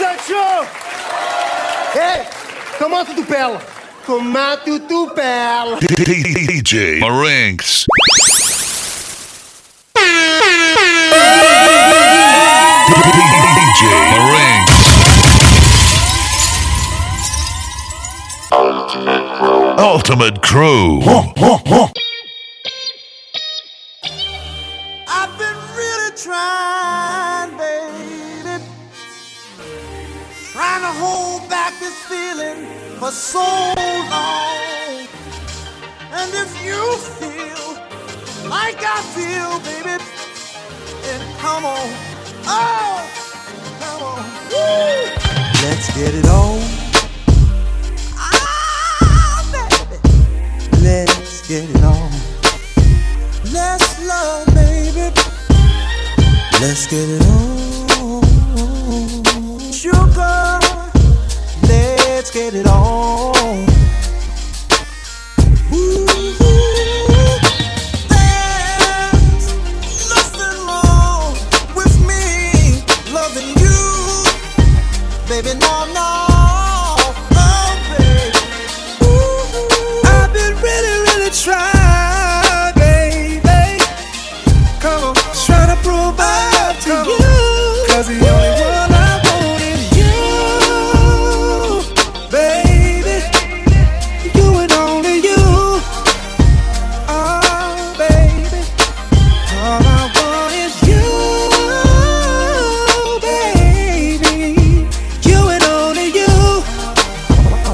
muchacho! Comment tu t'appelles? Comment tu t'appelles? DJ Marinx. DJ Marinx. Ultimate Crew. I've been really trying, baby, trying to hold back this feeling for so long. And if you feel like I feel, baby, then come on, oh, come on, woo. Let's get it on. Let's get it on. Let's love, baby. Let's get it on. Sugar, let's get it on. Ooh, there's nothing wrong with me loving you, baby. No, no. Try, baby. Come on, try to prove out to you. 'Cause the only one I want is you, baby. You and only you. Oh, baby. All I want is you, baby. You and only you. Oh,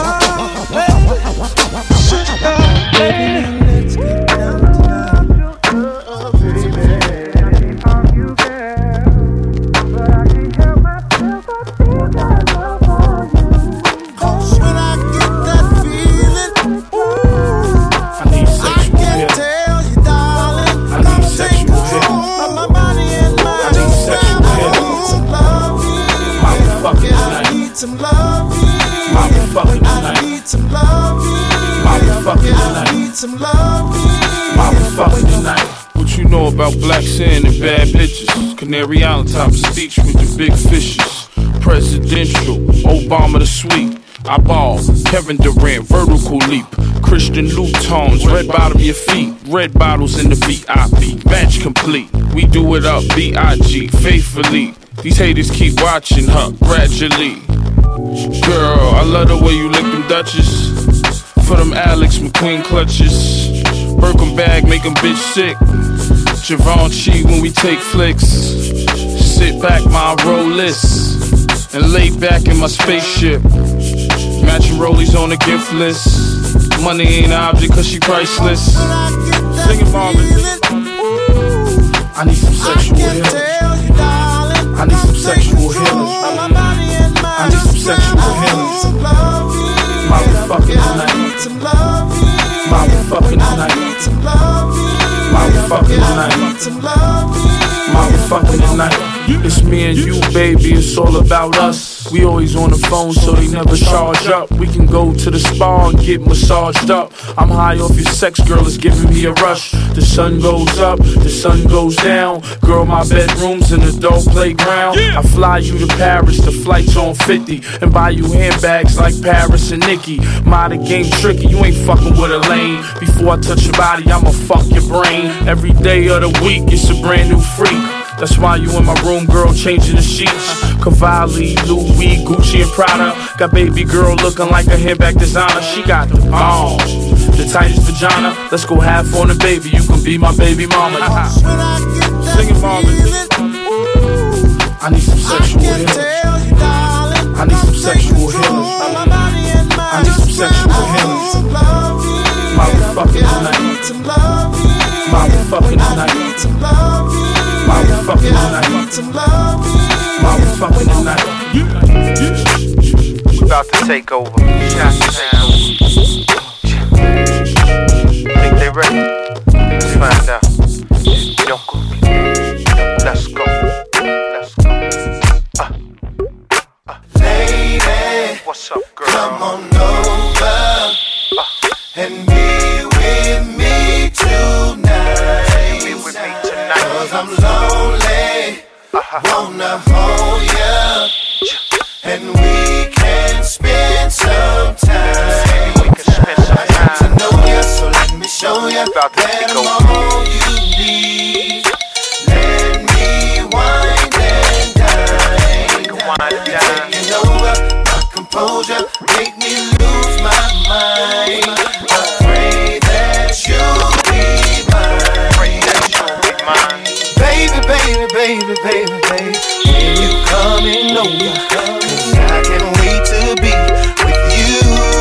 baby. Let's get down tonight. Baby, I'm you, girl, but I can't help myself. I feel that love for you. When I get that feeling, I can't tell you, darling. Come take control of my body and mind. I need some loving. I need some loving. I need some loving. I need some Fucking tonight. What you know about black sand and bad bitches? Canary Island top of speech with the big fishes. Presidential, Obama the sweet. I ball, Kevin Durant, vertical leap. Christian Louboutins, red bottom your feet. Red bottles in the VIP, match complete. We do it up, B.I.G., faithfully. These haters keep watching her, gradually. Girl, I love the way you lick them Dutchess. For them Alex McQueen clutches. Birkin bag make them bitch sick. Givenchy when we take flicks. Sit back my Rollis and lay back in my spaceship. Matching rollies on the gift list. Money ain't an object 'cause she priceless. Sing it, Marvin. I need some sexual healing. I need some sexual healing. I need some sexual healing. Mommy fucking tonight. Mommy fucking tonight. Mommy fucking tonight. Mommy fucking tonight. It's me and you, baby, it's all about us. We always on the phone, so they never charge up. We can go to the spa and get massaged up. I'm high off your sex, girl, it's giving me a rush. The sun goes up, the sun goes down. Girl, my bedroom's an adult playground. I fly you to Paris, the flight's on 50. And buy you handbags like Paris and Nicki. The game tricky, you ain't fucking with a lane. Before I touch your body, I'ma fuck your brain. Every day of the week, it's a brand new freak. That's why you in my room, girl, changing the sheets. Cavalli, Louis, Gucci, and Prada. Got baby girl looking like a handbag designer. She got the balls, the tightest vagina. Let's go half on the baby, you can be my baby mama. Sing it, Marvin. I need some sexual healing. I need some sexual healing. I need some sexual healing. Mommy fucking tonight. Mommy fucking tonight. Mommy fucking tonight. Mommy fucking tonight. We about to take over. Think they ready? Let's find out. Let's go. Let's go. lady. What's up, girl? Come on over and be with me tonight. Be with me tonight. 'Cause I'm lonely, wanna hold ya. composure make me lose my mind. I pray that you'll be mine. Baby, baby, baby, baby, baby, when you coming over, 'cause I can't wait to be with you.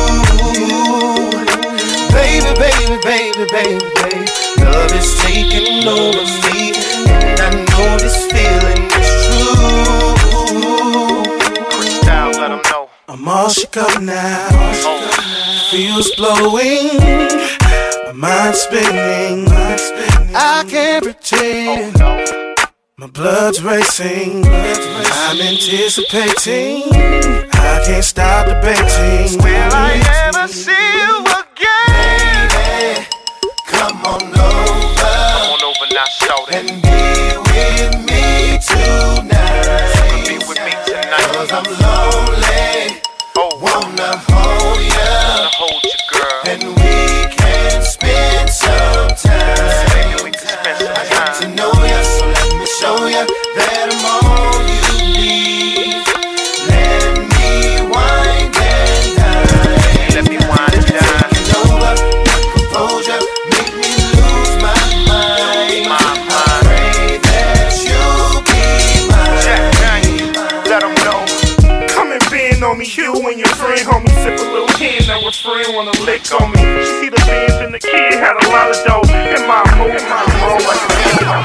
Baby, baby, baby, baby, baby, love is taking over me, and I know this feeling is true. Crystal, let them know. I'm all shook up now. Feels blowing, my mind's spinning. I can't pretend. My blood's racing. I'm anticipating. I can't stop debating. Will I ever see you again? Baby, come on over. Come on over now, shout it. And be with me tonight. Be with me tonight. 'Cause I'm lonely. Wanna hold ya. Wanna hold you, girl. And we can spend some time. Baby, we can spend some I got to time. know ya, so let me show ya that I'm all you need. Let me wind and dine. Let me wind and dine. Taking over, my composure make me lose my mind. I pray that you'll be Jack mine. Daniel, let them know. Come and bend on me, you and your friend, homie. Sip a little hen, now a friend wanna lick on me. See the bands and the kid had a lot of dough. In my mood, like a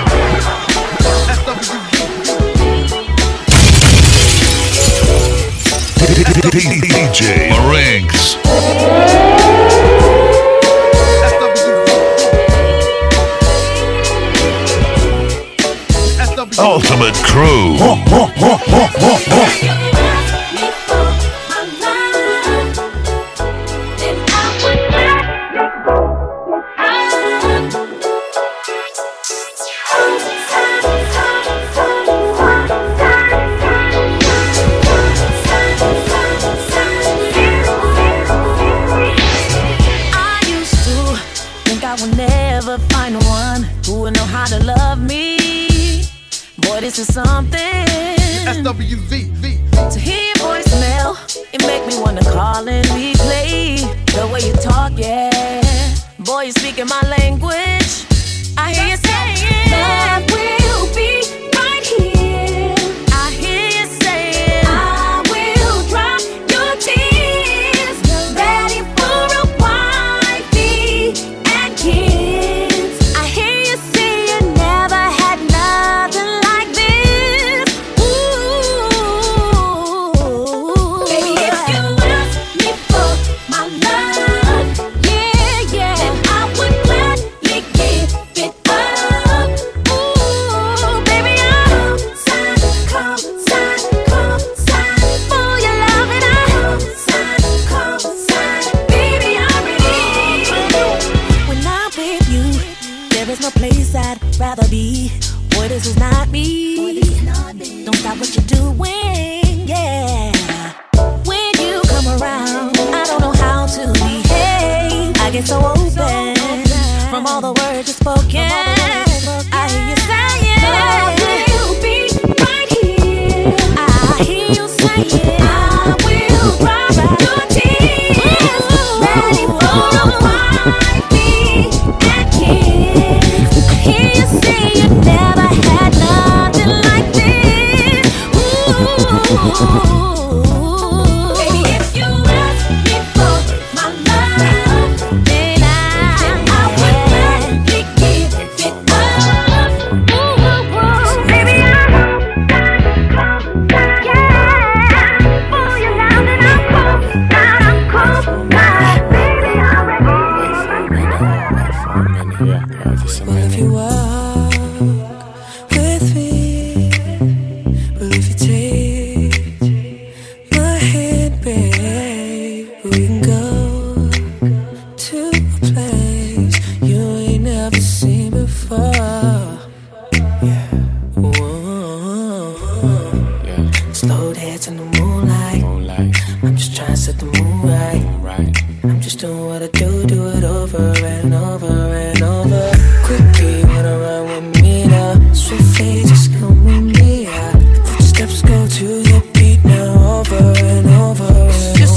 DJ Marinks. Ultimate Crew. This is something. SWV. To hear your voicemail, it make me wanna call and replay the way you talk, yeah. Boy, you speaking my language. I hear you saying, love will be right here. I hear you saying, I will dry your tears. Ready for a wifey and kids. I hear you say you never had nothing like this. Ooh, baby, if you ask me for my love, yeah, then I would gladly give it up. Ooh, baby, I'm come sign for your love, and I'm sign, baby, I'm ready. When I'm with you, there is no place I'd rather be. Boy, this is not me. Don't stop what you're doing, yeah. When you come around, I don't know how to behave. I get so open from all the words you've spoken. I hear you saying, love will be right here. I hear you saying, I will cry your tears. Ready for a wifey and kids. I hear you say you never had nothing like this. Ooh, baby, if you ask me for my love, then I would gladly give it up. Ooh, baby, I'm yeah, for your love, and I'm cool, baby, I'm ready. Well, if you walk with me, well, if you take my hand, babe, we can go to a place you ain't never seen before. Yeah. Whoa. Slow dance in the moonlight. I'm just trying to set the mood right. I'm just doing what I do it over and over and over. Quickly wanna run with me now. Swiftly just come with me. Footsteps go to the beat now, over and over.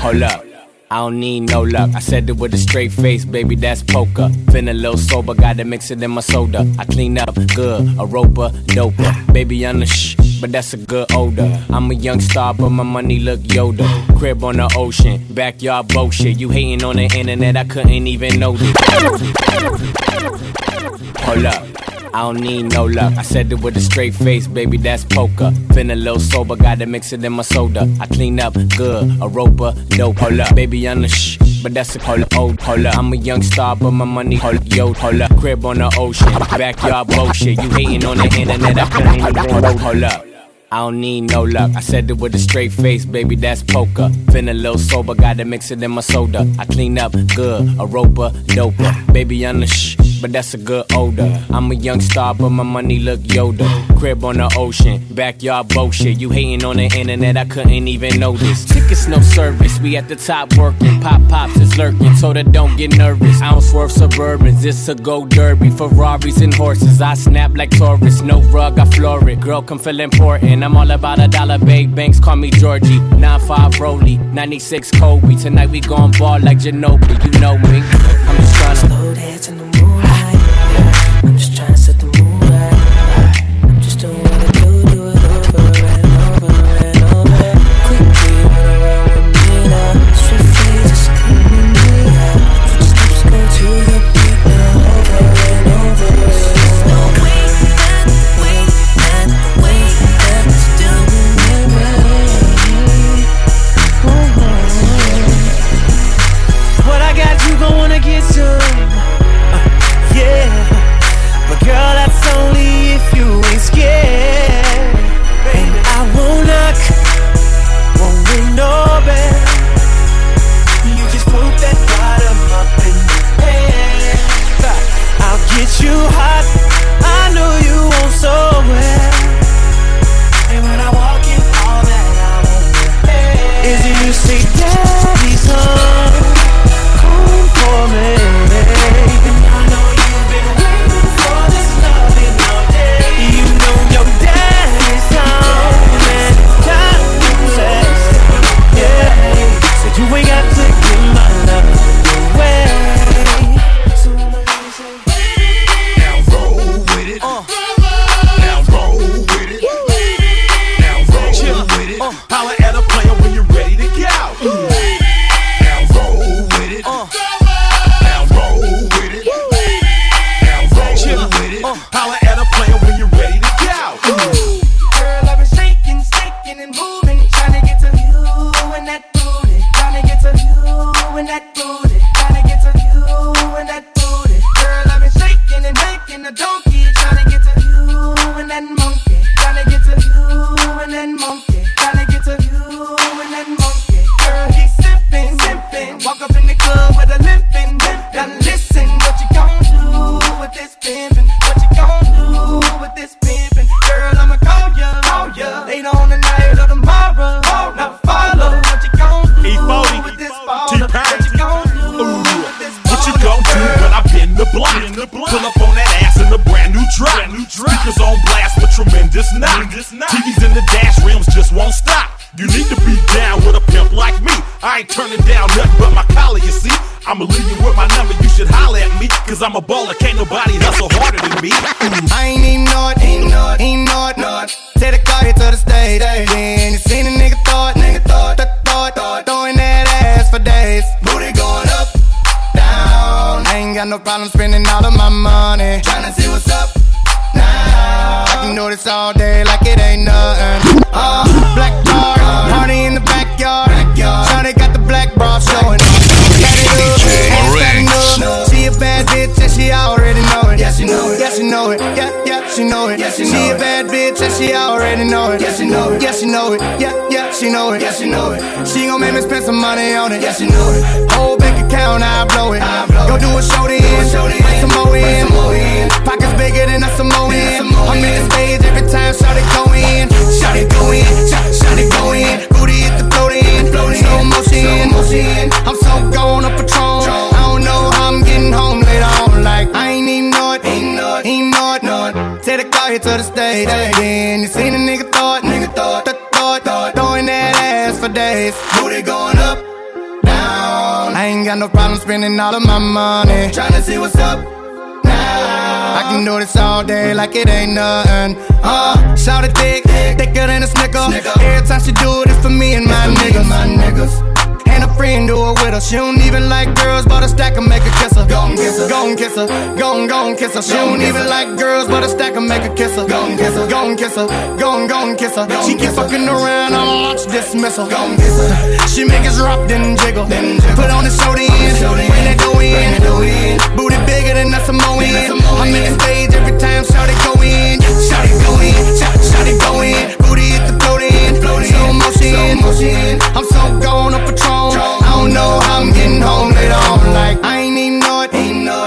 Hold up. I don't need no luck. I said it with a straight face, baby, that's poker. Feeling a little sober, gotta mix it in my soda. I clean up good, a roper, doper. Baby, I'm the but that's a good odor. I'm a young star, but my money look Yoda. Crib on the ocean, backyard bullshit. You hating on the internet, I couldn't even know this. Hold up. I don't need no luck. I said it with a straight face, baby, that's poker. Feeling a little sober, gotta mix it in my soda. I clean up good, a roper, dope. Hold up, baby, I'm the but that's a hold up. I'm a young star, but my money hold up. Crib on the ocean, backyard bullshit. You hating on the internet, I couldn't even hold up. I don't need no luck. I said it with a straight face, baby, that's poker. Feeling a little sober, gotta mix it in my soda. I clean up good, a roper, doper. Baby, I'm the but that's a good odor. I'm a young star, but my money look Yoda. Crib on the ocean, backyard bullshit. You hating on the internet, I couldn't even notice. Tickets no service, we at the top working. Pops is lurking, so that don't get nervous. I don't swerve Suburbans, it's a go derby. Ferraris and horses, I snap like Taurus. No rug, I floor it. Girl, come feel important. I'm all about a dollar, babe. Banks call me Georgie. 9-5 Rollie, 96 Kobe. Tonight we gon' ball like Ginobili. You know me. I'm just tryna slow dance in the moonlight. I'm just trying to set the mood right. I'm just doing what I do it over and over and over. Quickly run around with me now. Swift feet just screaming me out. Footsteps go to the beat now, over and over. The way that it's doing it right. What I got, you gon' wanna get some. Yeah, but girl, that's only if you ain't scared. And I won't knock, won't ring no bell. You just put that bottom up in the air. I'll get you hot, I know you want so well. And when I walk in, all that I want is you say, Daddy's home, come for me. You ain't got to give my love away. Now roll with it. Now roll with it. Now roll with it. Holla at a player when you're ready to go. Now roll with it. Now roll with it. Now roll with it. Holla at a player when you're ready to go. Girl, I've been shaking, and moving, trying to get to you and that booty. Tryna get to you and that booty. Tryna get to you and that booty. Girl, I've been shaking and making a donkey. Tryna get to you and that monkey. Tryna get to you and that monkey. Tryna get to you and that monkey. Girl, he's simping. Walk up in the club with a limping. Now listen, what you gon' do with this pimpin'? What you gon' do with this pimpin'? Girl, I'ma call ya later on the night or tomorrow. Now follow what you gon' do with this baller. What you gon' do with this baller? What you gon' do when I bend the block? Pull up on that ass in a brand new drop. Speakers on blast with tremendous knock. TVs in the dash rims just won't stop. You need to be down with a pimp like me. I ain't turning down nothing but my collar, you see. I'ma leave you with my number, you should holler at me. Cause I'm a baller, can't nobody hustle harder than me. I ain't even know it. Take the car here to the stage. Then you seen a nigga thought, throwing that ass for days. Booty going up, down. I ain't got no problem spending all of my money. Tryna see what's up now. I can do this all day like it ain't nothing. Black car, party in the backyard. Shawty got the black bra showing. DJ Marinx. She a bad bitch and she already know it. Yeah, she know it. Yeah, she know it. Yeah, she know it. She a bad bitch and she already know it. Yeah, she know it. Yeah, she know it. Yeah, she know it. Yeah, she know it. She gon' make me spend some money on it. Yeah, she know it. Whole bank account, I blow it. Go do a show then, bring some more in. Pockets bigger than a Samoan. I'm in the stage every time Shawty go in. Shawty go in. Shawty go in. Booty hit the float in. Slow motion. I'm so gone up Patron. I don't know how I'm getting home later on. Like I ain't even know it. Take the car here to the stage. Then you seen a nigga thought, throwing that ass for days. Booty going up, ain't got no problem spending all of my money. Tryna see what's up now. I can do this all day like it ain't nothing. Shout it thick, thicker than a snicker. Every time she do it, it's for me and my niggas. And a friend do it with her. She don't even like girls, but a stack and make her kiss her. Gon' kiss her, gon' kiss her, gon' kiss her. She don't even like girls, but a stack and make her kiss her. Gon' kiss her, gon' kiss her, gon' kiss her. She keep fucking around, I'ma launch dismissal. Gon' kiss her. She make us rock, then jiggle. Put on the show the end, bring that dough in. Booty bigger than a Samoan. I'm in the stage every time, shout it go in. Shout it go in, shout it go in. Booty hit the float in, slow motion. I'm so gone up Patron. I don't know how I'm getting home later on. Like, I ain't even know it.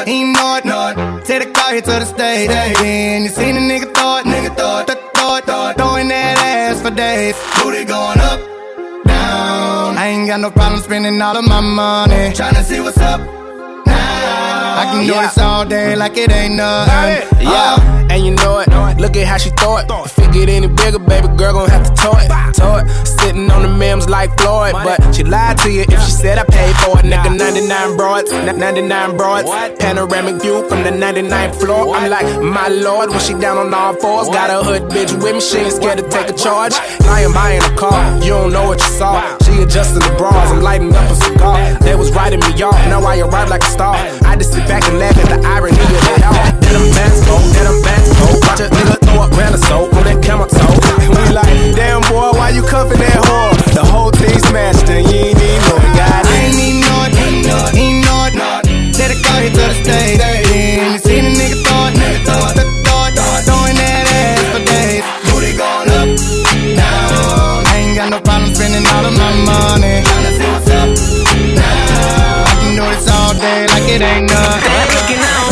Take the car here to the stage. And you seen a nigga thought, throwing that ass for days. Booty going up, down. I ain't got no problem spending all of my money. Tryna see what's up now. I can do this all day like it ain't nothing. And you know it. Look at how she throw it. If it get any bigger, baby girl gon' have to tow it. Sitting on the memes like Floyd, but she lied to you if she said I paid for it. Nigga, 99 broads, 99 broads. Panoramic view from the 99th floor. I'm like, my lord, when she down on all fours. Got a hood bitch with me, she ain't scared to take a charge. Lying buying a car, you don't know what you saw. She adjusting the bras, I'm lighting up a cigar. They was writing me off, now I arrive like a star. I just sit back and laugh at the irony of it all. Let them bands go, watch a nigga throw up grand of soap on that camel toe. We like, damn boy, why you cuffing that whore? The whole thing smashed and you ain't even know it, God. I ain't even know it. Take the car here to the stage. And you seen a nigga thought, throwing that ass for days. Booty going up, down. I ain't got no problem spending all of my money. Tryna see what's up now. I can do this all day like it ain't nothing. They ain't looking out,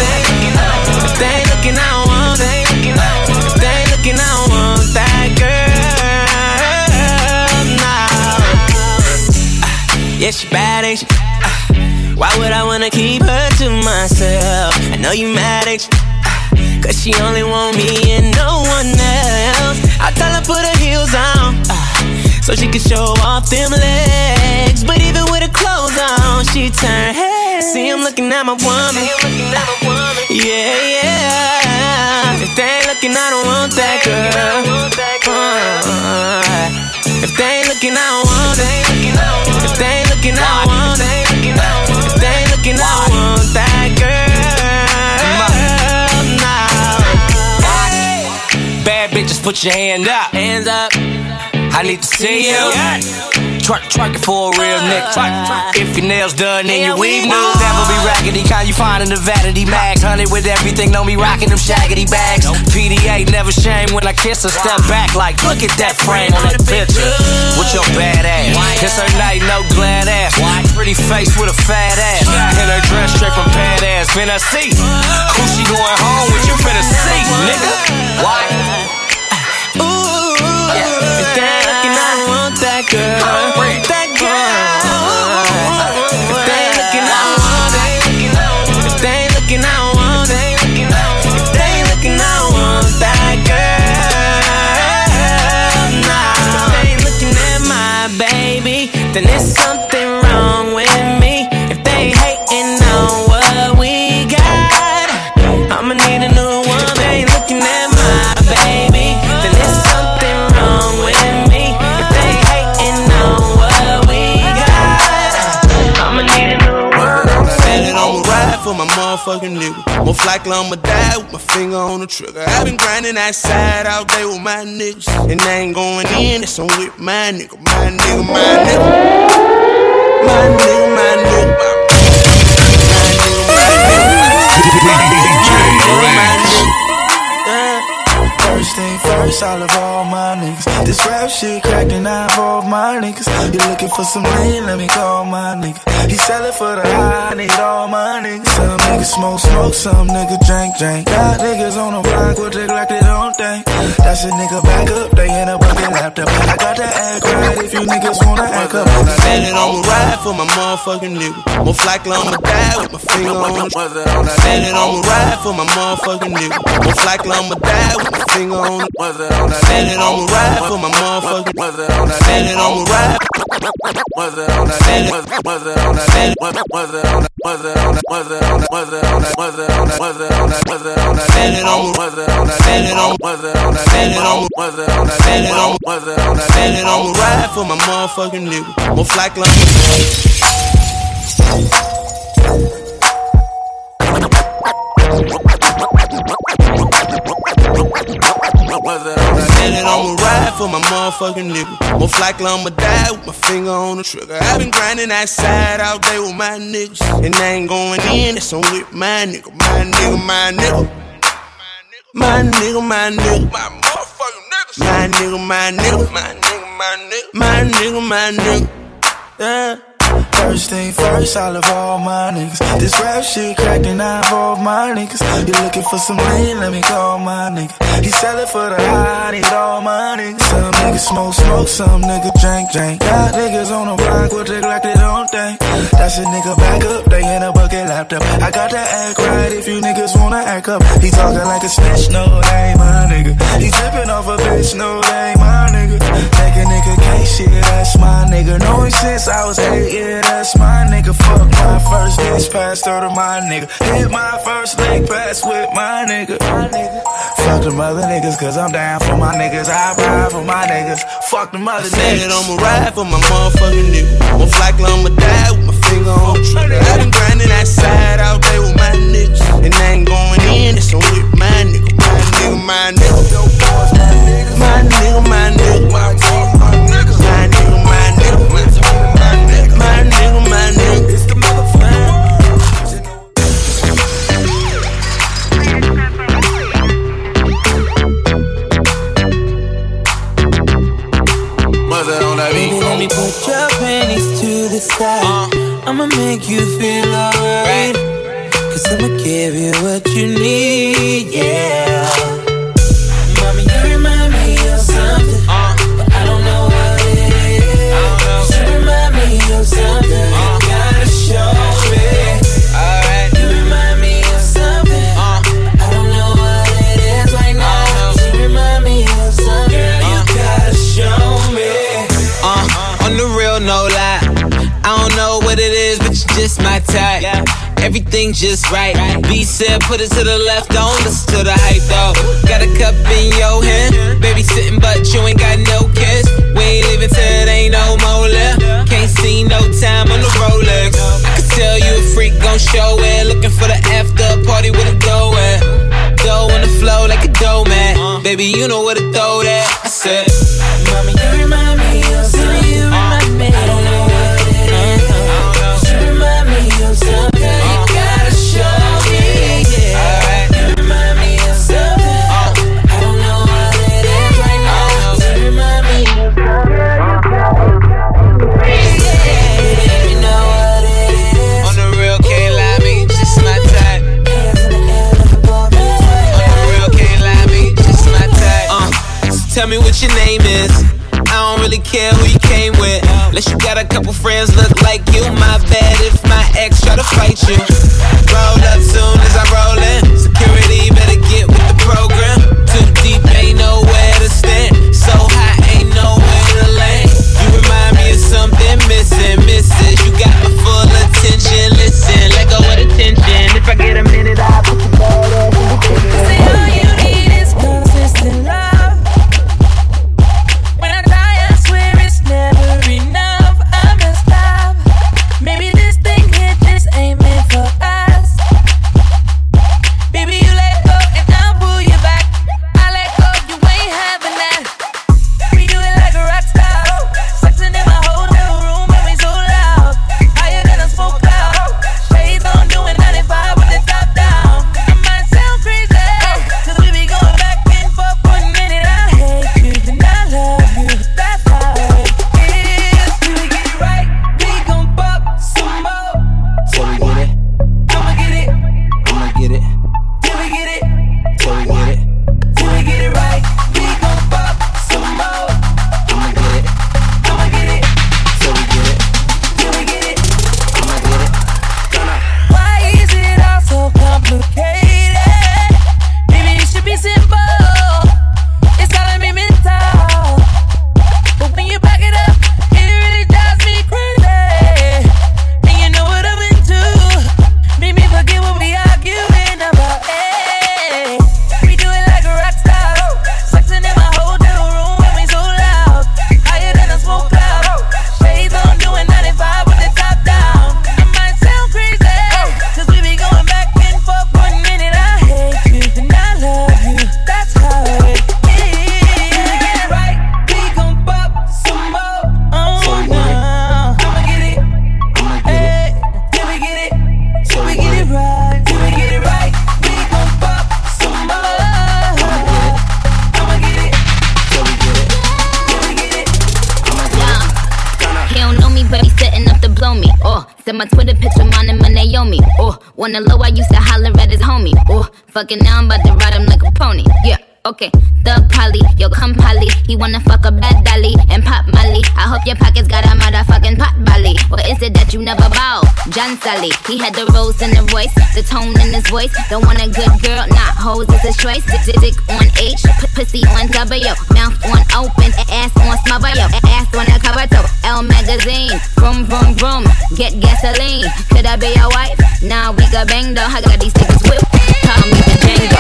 they ain't looking out. That girl now. Yeah, she bad, ain't she? Why would I wanna keep her to myself? I know you mad, ain't you? Cause she only want me and no one else. I tell her put her heels on, so she can show off them legs. But even with her clothes on, she turn head. See, I'm looking at my woman. Yeah. If they ain't looking, I don't want that girl. If they ain't looking, I don't want it. If they ain't looking, I don't want it. If they ain't looking, I don't want that girl. Nah. Bad bitches, put your hand up. Hands up. I need to see you. Twerk it for a real nigga. If your nails done and your weave new, never be raggedy. Kind you find in the vanity mag. Honey with everything, don't be rocking them shaggedy bags. PDA never shame when I kiss her. Step back like, look at that frame on that picture. With your bad ass. It's her night, no glad ass. Pretty face with a fat ass. In her dress straight from pad ass. Finna see who she going home with. You finna see, nigga. Why? If they ain't looking, I don't want that girl. That girl. If they ain't looking, I don't want it. If they ain't looking, I don't want it. If they ain't looking, I don't want that girl. Nah. If they ain't looking at my baby, then there's something wrong with me. If they ain't hating on what we got, I'ma need a new one. If they ain't looking at my baby, then there's something wrong with me. If they ain't hating on what we got, I'ma need a new one. Said it, I'ma ride for my motherfucking nigga. Most likely I'ma die with my finger on the trigger. I've been grinding outside all day with my niggas, and they ain't going in, that's I'm with my nigga, my nigga, my nigga. My nigga, my nigga, my First thing first, I love all my niggas. This rap shit cracking, I involve my niggas. You looking for some lean, let me call my nigga. He sellin' for the high, I need all my niggas. Some niggas smoke, some niggas drink. Got niggas on the block with the Glock, they don't think. That's a nigga back up, they in a bucket laptop. I got to act right if you niggas wanna act up. Said it, I'ma ride for my motherfucking nigga. Most likely I'ma die with my finger on the trigger. Said it, I'ma ride for my motherfucking nigga. Most likely I'ma die with my finger on the trigger. Said it on the ride for my motherfucking. Said it on the ride. Was it on that? Was it on that? Was it on that? Was it on that? Was it on that? Was it on that? Was it on that? Was it on that? Was it on that? Said it on. Was it on that? Said it on. Was it on that? Said it on. Was it on that? Said it on. Was it on that? Said it on. Ride for my motherfucking nigga. More fly club. Said it on the ride for my motherfucking nigga. More likely I'ma die with my finger on the trigger. I been grinding outside all day with my niggas, and I ain't going in, that's on with my nigga. My nigga, my nigga. My nigga, my nigga. My motherfucking niggas. My nigga, my nigga. My nigga, my nigga. My nigga, my nigga. Yeah. First thing first, I love all my niggas. This rap shit cracked and I involve my niggas. You looking for some lean, let me call my nigga. He sell it for the high, I need all my niggas. Some niggas smoke, some niggas drink. Got niggas on the block with the Glock, they don't think. That's a nigga back up, they in a bucket laptop. I got to act right if you niggas wanna act up. He talking like a snitch, no, they ain't my nigga. He tripping off a bitch, no, they ain't my nigga. Take a nigga can't shit, that's my nigga. Know him since I was 8, yeah, that's my nigga. Fuck my first bitch, passed her to my nigga. Hit my first leg pass with my nigga. Fuck them other niggas, cause I'm down for my niggas. I ride for my niggas. Fuck them other niggas. I said I'ma ride for my motherfucking nigga. Most likely I'ma die with my finger on the trigger. I been grinding outside all day with my niggas, and I ain't going in, it's on with my nigga. My nigga, my nigga. My nigga, my nigga. My nigga, my nigga. My nigga, my nigga. My nigga, my nigga. It's the motherfucker. Baby, let me put your panties to the side. I'ma make you feel alright, cause I'ma give you what you need, yeah. Mommy, you remind me of something, but I don't know what it is. You remind me of something, you gotta show me. Alright. You remind me of something, I don't know what it is right now. You remind me of something, you gotta show me. On the real, no lie. I don't know what it is, but you're just my type. Everything just right. B said, put it to the left, don't listen to the hype though. Got a cup in your hand, baby sitting, but you ain't got no kiss. We ain't leaving till it ain't no more left. Can't see no time on the Rolex. I could tell you a freak gon' show it. Looking for the after party with a dough at. Dough on the flow like a dough man. Baby, you know where to throw that. I said, Mommy, you remind me of something. You remind me. I don't know what it is. You remind me of something. You gotta show me. Yeah. Alright. You remind me of something. I don't know what it is right now. You remind me of something. You know what it is. on the real, can't lie, me, just my type. On the real, can't lie, me, just my type. So tell me what your name is. I don't really care who you came with. Unless you got a couple friends look like you. My bad if my ex try to fight you. Roll up soon as I roll in. Security better get with the program. Too deep, ain't nowhere to stand. So high, ain't nowhere to land. You remind me of something missing, misses. You got my full attention. Listen, let go of the tension. If I get a minute, I'll put your ball up in the kitchen. Say all you need is consistent love. When I die, I swear it's never enough. I messed up. me. Oh, send my Twitter picture, mine and my Naomi. Oh, wanna low, I used to holler at his homie. Oh, fucking now I'm about to ride him like a pony. Yeah. Okay, the Polly, yo come Polly. He wanna fuck a bad dolly and pop Molly. I hope your pockets got a motherfucking pot belly. Or is it that you never bow? John Sally, he had the rose in the voice, the tone in his voice. Don't want a good girl, not hoes is his choice. Dick on H, pussy on W, mouth on open, ass on smother, yo, ass on the cover toe. L magazine, vroom vroom vroom, get gasoline. Could I be your wife? Nah, we got bang though. I got these tickets whipped. Call me the Django.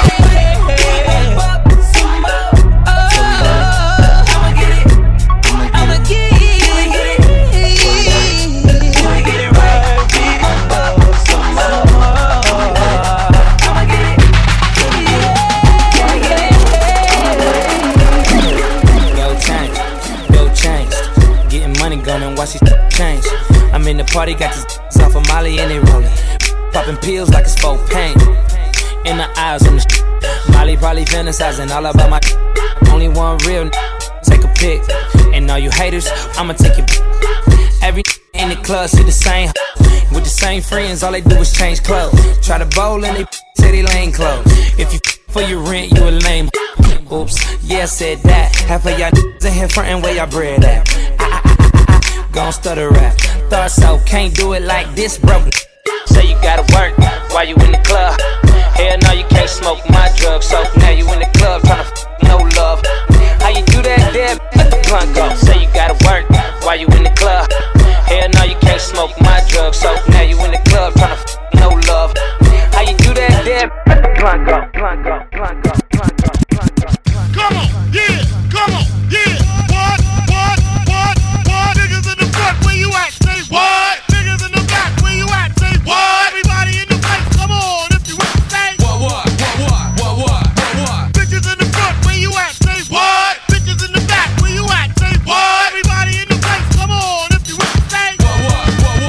And watch these change. I'm in the party, got this off of Molly and they rollin'. Popping pills like it's for pain. In the eyes on the Molly probably fantasizing all about my only one real take a pic. And all you haters, I'ma take your every in the club see the same with the same friends, all they do is change clothes. Try to bowl and they say they lane clothes. If you for your rent, you a lame. Oops, yeah, said that. Half of y'all in here frontin' where y'all bread at. Gon' stutter rap. Thought so, can't do it like this, bro. Say you gotta work while you in the club. Hell no, you can't smoke my drugs. So now you in the club tryna no love. How you do that there? Let the blunt go. Say you gotta work while you in the club. Hell no, you can't smoke my drugs. So now you in the club tryna no love. How you do that there? Let the blunt go. Blunt go. Blunt go. Blunt go. Blunt go. Come on, yeah, come on, yeah. What? Niggas in the front, where you at? Say what? Niggas in the back, where you at? Say what? Everybody in the place, come on, if you want to say what? Bitches in the front, where you at? Say what? Bitches in the back, where you at? Say what? Everybody in the place, come on, if you want to say what?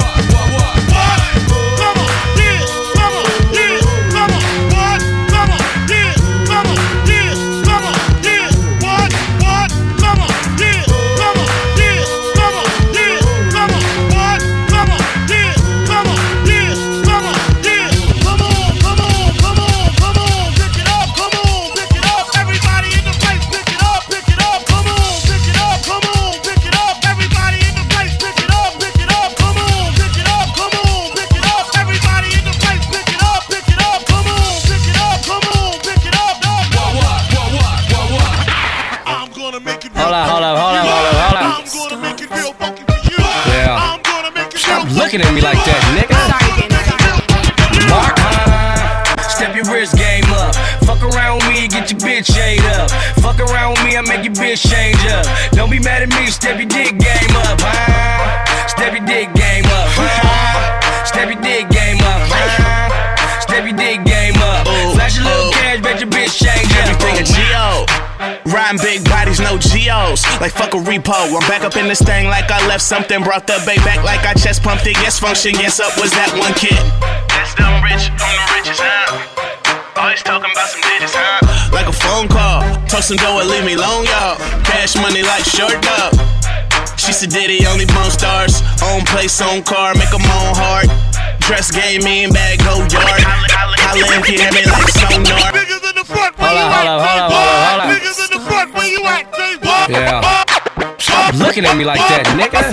Come on, yeah, come on, yeah, come on, what? Come on, yeah, come on, yeah, come on, yeah, what? Come on, yeah, come on, yeah, come on, yeah, come on, what? Come on, yeah, come on, yeah, come on, yeah, come on, come on, come on, come on, pick it up, come on, pick it up, everybody in the place, pick it up, come on, pick it up, come on, pick it up, everybody in the place, pick it up, come on, pick it up, come on, pick it up, everybody in the place, pick it up, come on, pick it up, come on, pick it up, I'm gonna make it real. Hold up. I'm gonna make it real funky for you. Yeah. I'm gonna make it Stop real looking at me like that, nigga. Mark, step your wrist game up. Fuck around with me, get your bitch ate up. Fuck around with me, I make your bitch change up. Don't be mad at me, step your dick game up. Step your dick game up. Step your dick game up. Step your dick game up. Flash a little cash, bet your bitch change up. Everything a G.O. Riding big bodies, no G.O.s. Like fuck a repo. I'm back up in this thing like I left something. Brought the bay back like I chest pumped it. Yes, function, yes, up was that one kid. That's them rich, I'm the richest, huh? Always talking about some digits, huh? Like a phone call. Told some dough and leave me alone, y'all. Cash money like short dog. She said Diddy only bone stars. Own place, own car, make them own heart. Dress game, mean bag, go yard. Holla if you hear me like sonar. Niggas in the front, where you at? Niggas in the front, where you at? Say what? Yeah. Stop looking at me like that, nigga.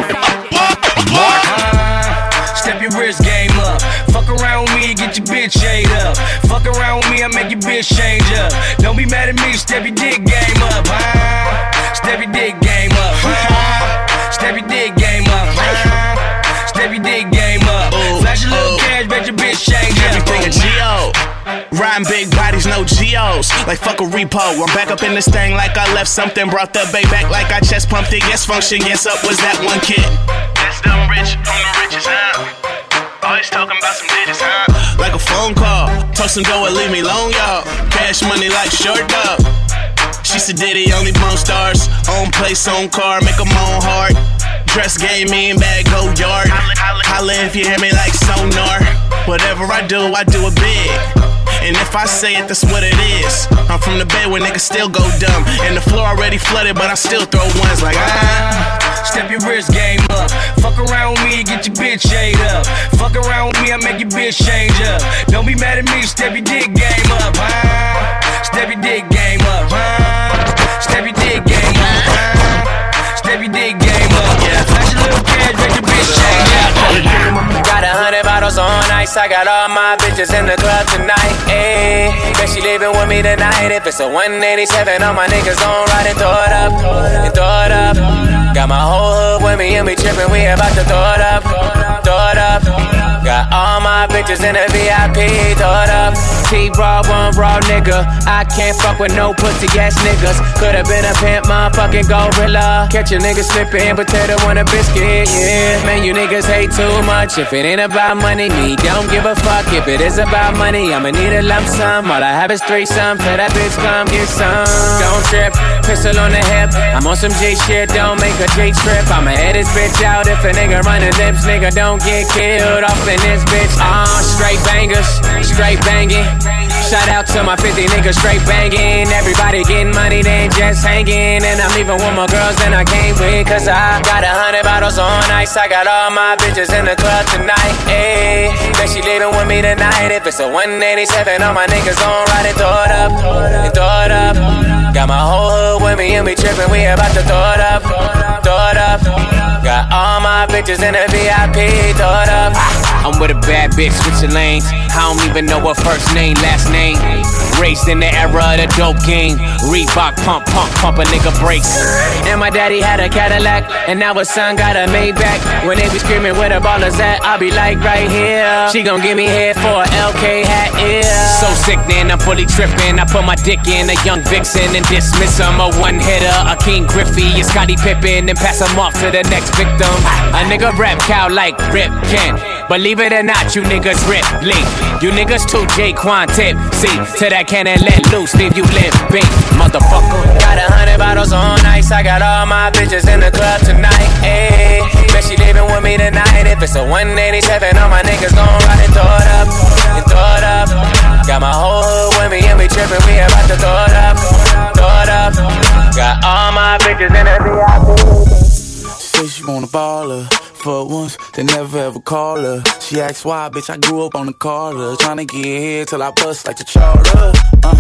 Mark, step your wrist game up. Fuck around with me, get your bitch ate up. Fuck around with me, I make your bitch change up. Don't be mad at me, step your dick game up. Step your dick game up. Step your dick game up. Step your dick game up. Flash a little cash, bet your bitch change up. Everything a G.O. Riding big bodies, no G.O.s. Like fuck a repo. I'm back up in this thing like I left something. Brought the bay back like I chest pumped it. Yes, function, yes, up was that one kid. That's them rich, I'm the richest, huh? Always talking about some digits, huh? Like a phone call. Told some dough and leave me alone, y'all. Cash money like short dog. She said Diddy only bone stars. Own place, own car, make them own heart. Dress game, mean bag, go yard. Holla if you hear me like sonar. Whatever I do it big. And if I say it, that's what it is. I'm from the Bay where niggas still go dumb. And the floor already flooded, but I still throw ones like Step your wrist game up. Fuck around with me, get your bitch bitch ate up. Fuck around with me, I make your bitch change up. Don't be mad at me, step your dick game up, huh? Step your dick game up, huh? Step your dick game up, huh? Step your dick game up, yeah. Flash a little cash, make your bitch change up. Got 100 bottles on ice, I got all my bitches in the club tonight, ayy. Bet she leaving with me tonight. If it's a 187, all my niggas gon' ride and throw it up, and throw it up. Got my whole hood with me and we trippin', we about to throw it up, throw it up. Got all my bitches in the VIP, throw it up. T-Raw, one raw nigga. I can't fuck with no pussy ass niggas. Could've been a pimp, motherfucking gorilla. Catch a nigga slippin', potato on a biscuit, yeah. Man, you niggas hate too much. If it ain't about money, me don't give a fuck. If it is about money, I'ma need a lump sum. All I have is threesome, tell that bitch come get some. Don't trip, pistol on the hip. I'm on some J shit, don't make a J trip. I'ma head this bitch out if a nigga running lips. Nigga don't get killed off in this bitch. Straight bangers, straight banging. Shout out to my 50 niggas straight banging. Everybody getting money, they ain't just hanging. And I'm leaving with more girls than I came with. Cause I got 100 bottles on ice. I got all my bitches in the club tonight, ayy. Bet she leaving with me tonight. If it's a 187, all my niggas gon' ride and throw it up, and throw it up. Got my whole hood with me and we trippin', we about to throw it up, throw it up. Got all my bitches in the VIP, throw it up. I'm with a bad bitch, switching lanes. I don't even know her first name, last name. Raised in the era of the dope game. Reebok pump a nigga brakes. And my daddy had a Cadillac, and now his son got a Maybach. When they be screaming where the ballers at, I'll be like right here. She gon' give me head for a LK hat, yeah. So sickening, I'm fully tripping. I put my dick in a young vixen and dismiss him. A one hitter, a King Griffey, a Scottie Pippen, and pass him off to the next victim. A nigga rap cow like Rip Kent. Believe it or not, you niggas rip link. You niggas too J-Quan tip. See, to that cannon let loose, leave you limping, motherfucker. Got 100 bottles on ice. I got all my bitches in the club tonight, ayy. Bet she leaving with me tonight. If it's a 187, all my niggas gon' ride and throw it up, and throw it up. Got my whole hood with me and we trippin', we about to throw it up, throw it up. Got all my bitches in the VIP. Say she want a baller. For once, they never ever call her. She asks why, bitch, I grew up on the Carter. Tryna get here till I bust like the Charter.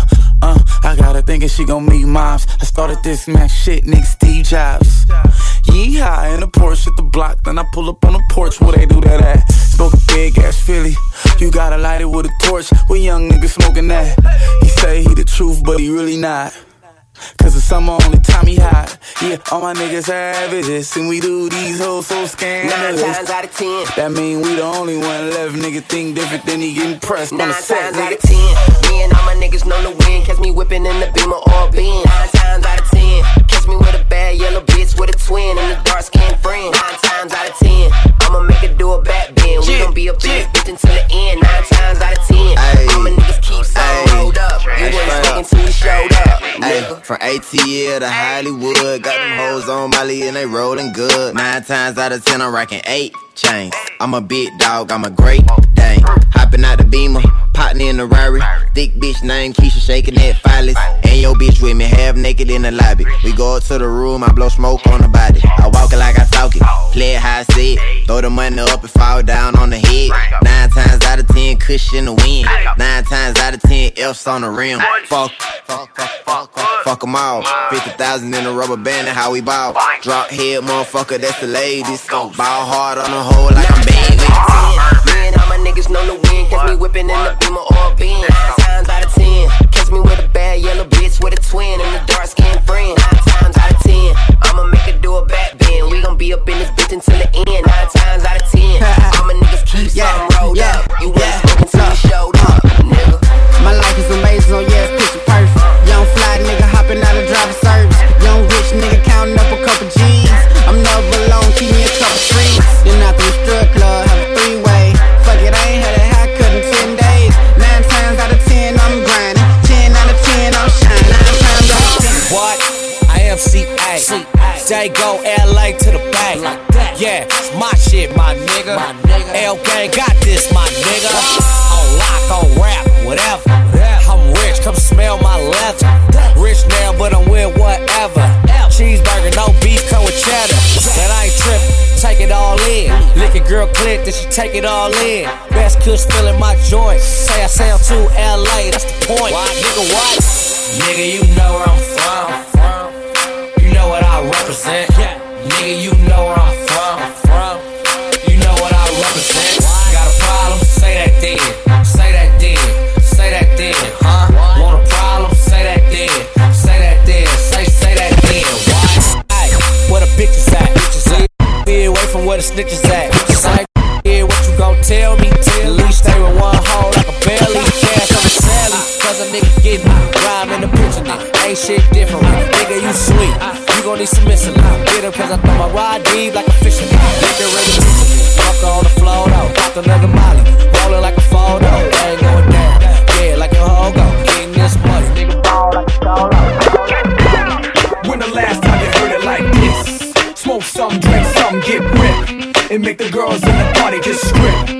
I got her thinking she gon' meet moms. I started this Mac shit, nigga Steve Jobs. Yeehaw, in the Porsche at the block. Then I pull up on the porch where they do that at. Smoke a big ass Philly. You gotta light it with a torch. We young niggas smoking that. He say he the truth, but he really not. Cause the summer only time he hot. Yeah, all my niggas have it. And we do these hoes so scandalous. 9 times out of 10. That mean we the only one left. Nigga think different than he getting pressed. 9 on the set, times out nigga. of 10. Me and all my niggas know the win. Catch me whipping in the Beamer or Benz. 9 times out of 10. Catch me with a bad yellow bitch with a twin and a dark skinned friend. 9 times out of 10. I'ma make her do a back bend. We gon' be up in this bitch until the end. 9 times out of 10. All my niggas keep some rolled up. You wasn't sticking till we showed up. Ay, from ATL to Hollywood, got them hoes on Molly and they rollin' good. 9 times out of 10, I'm rockin' 8 chains. I'm a big dog, I'm a great dang. Hopping out the Beamer, potting in the Rari. Thick bitch named Keisha, shaking that phallus. And your bitch with me, half naked in the lobby. We go up to the room, I blow smoke on the body. I walk it like I talk it, play it how I say it. Throw the money up and fall down on the head. 9 times out of 10, cushion the wind. 9 times out of 10, F's on the rim. Fuck them all. 50,000 in a rubber band and how we ball. Drop head, motherfucker, that's the ladies. Ball hard on the hole like I'm baby. Me and all my niggas know the win. Catch me whipping in the Beamer or Benz. 9 times out of 10. Catch me with a bad yellow bitch with a twin and a dark skinned friend. 9 times out of 10. I'ma make her do a back bend. We gon' be up in this bitch until the end. 9 times out of 10. All my niggas keep some rolled up. You wasn't smoking till you showed up, nigga. My life is amazing, oh yeah, it's picture perfect. Young fly nigga hopping out of driver service. Young rich nigga counting up a couple G's. I'm never alone, keep me a couple streets. Then after the strip club, have a 3-way. Fuck it, I ain't had a haircut in 10 days. 9 times out of 10, I'm grinding. 10 out of 10, I'm shining. 9 times out of 10. What? I am CA. They go LA to the bank. Yeah, it's my shit, my nigga. L gang got this, my nigga. On lock, on rap, whatever. I'm rich, come smell my leather. Rich now, but I'm with whatever. Cheeseburger, no beef, come with cheddar. But I ain't trippin'. take it all in. Lick a girl click, then she take it all in. Best kush filling my joint. Say I sound too LA, that's the point. Nigga, what? Nigga, you know where I'm from. You know what I represent. Nigga, you know where I'm from. You know what I represent. Got a problem? Say that then. Say that then. Say that then, huh? Want a problem? Say that then. Say that then. Say that then. Why? Ay, where the bitches at? Be away from where the snitches at. Say, yeah, what you gon' tell me? At least stay with one hole like a belly. Cash on the sally. Cause a nigga get me. Rhyme in the picture. Ain't shit different. Nigga, you sweet. You gon' need some missing. Get her cause I throw my ride deep like a fisherman. Nigga, ready to fuck on the floor though. Pop another molly. Rollin' like a photo. Ain't going down. Yeah, like a hoe go. Getting this money. Nigga, ball like a solo. When the last time you heard it like this? Smoke some, drink some, get ripped. And make the girls in the party just script.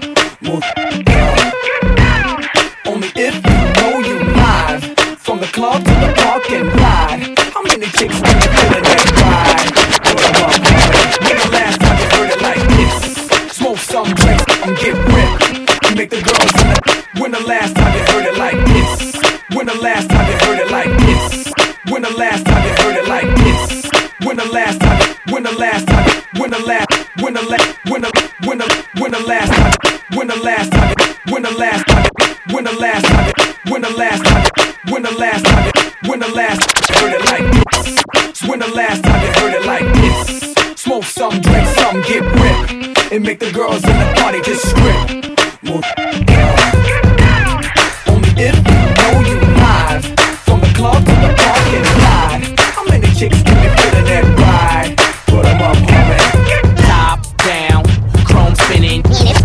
Only if you know you live. From the club to the parking lot. How many chicks when you feeling that ride? When the last time you heard it like this? Smoke some, drink some, get ripped. And make the girls in the... When the last time you heard it like this? When the last time you heard it like this? When the last time you heard it like this? When the last time, when the last time, when the last, when the last, when the last time, when the last time, when the last time, when the last time, when the last time, when the last time, when the last heard it like this? When the last time you heard it like this? Smoke some, drink some, get ripped, and make the girls in the party just script. Only if you know you live, from the club to the parking lot. How many chicks can you fit in that ride? Put them up, homie. Top down, chrome spinning.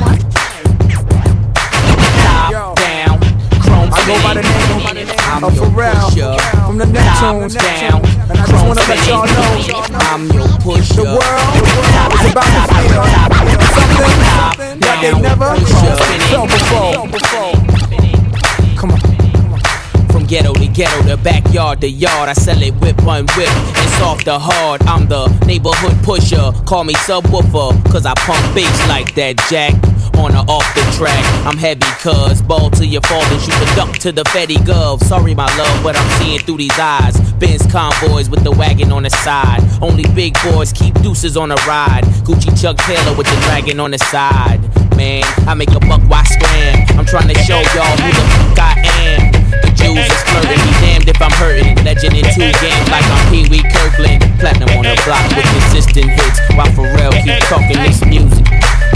Top down, chrome spinning. I'm Pharrell from the Neptunes. Down, and I just wanna let y'all know I'm your pusher. The world is about to feel something that they never felt before. Come on. From ghetto to ghetto, the backyard to yard, I sell it whip on whip, and soft to hard. I'm the neighborhood pusher, call me subwoofer, cause I pump bass like that jack. On or off the track, I'm heavy cuz ball till you fall and shoot the duck to the Fetty Gov. Sorry my love, but I'm seeing through these eyes. Benz convoys with the wagon on the side. Only big boys keep deuces on a ride. Gucci Chuck Taylor with the dragon on the side. Man, I make a buck, why scram? I'm trying to show y'all who the fuck I am. The Jews is flirting, be damned if I'm hurting. Legend in 2 games like I'm Pee Wee Kirkland. Platinum on the block with consistent hits, while Pharrell keep talking this music.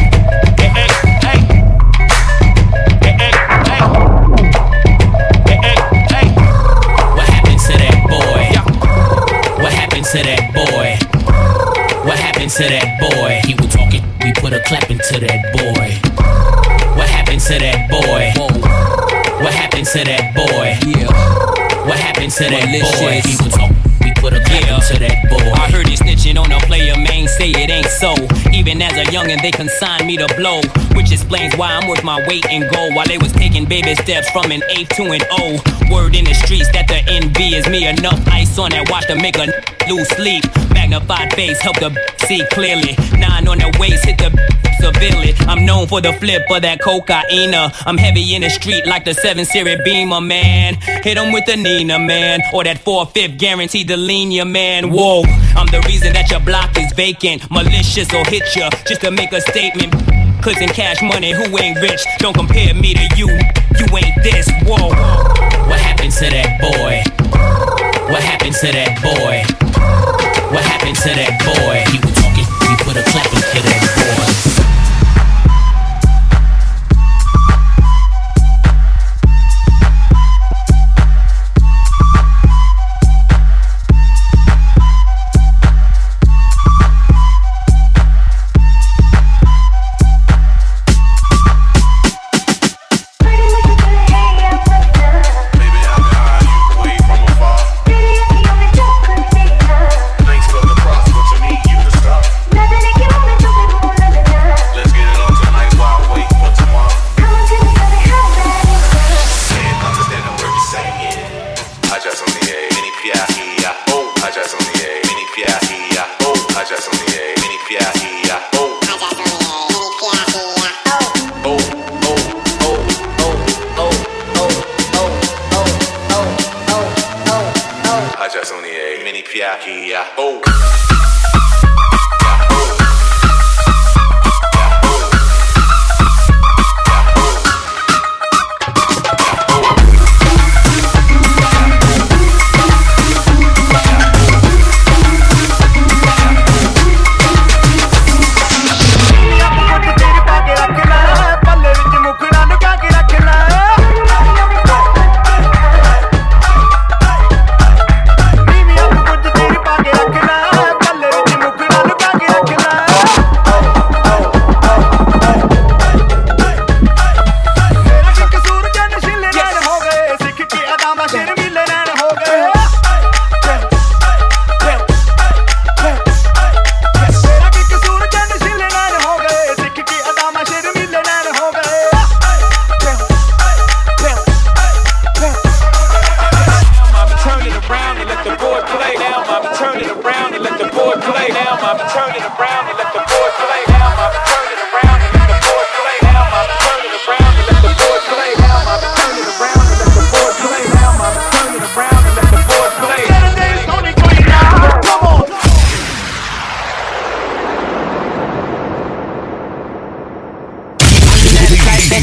To that boy, what happened to that boy? He was talking, we put a clap into that boy. What happened to that boy? What happened to that boy? Yeah. What happened to that boy? He was talking, we put a clap into that boy. I heard he snitching on a player, man, say it ain't so. Even as a youngin', they consigned me to blow, which explains why I'm worth my weight in gold. While they was taking baby steps from an A to an O. Word in the streets that the NB is me. Enough ice on that watch to make a lose sleep. Magnified face help the see clearly. 9 on the waist hit the severely. I'm known for the flip of that cocaine. I'm heavy in the street like the 7 Series Beamer, man. Hit 'em with the Nina, man, or that 4/5 guaranteed to lean ya, man. Whoa, I'm the reason that your block is vacant. Malicious or hit ya just to make a statement. Clicks and cash money, who ain't rich? Don't compare me to you, you ain't this. Whoa. What happened to that boy? What happened to that boy? What happened to that boy? He was talking, we put a clap into that boy. Thanks for the cross, but you need you to stop.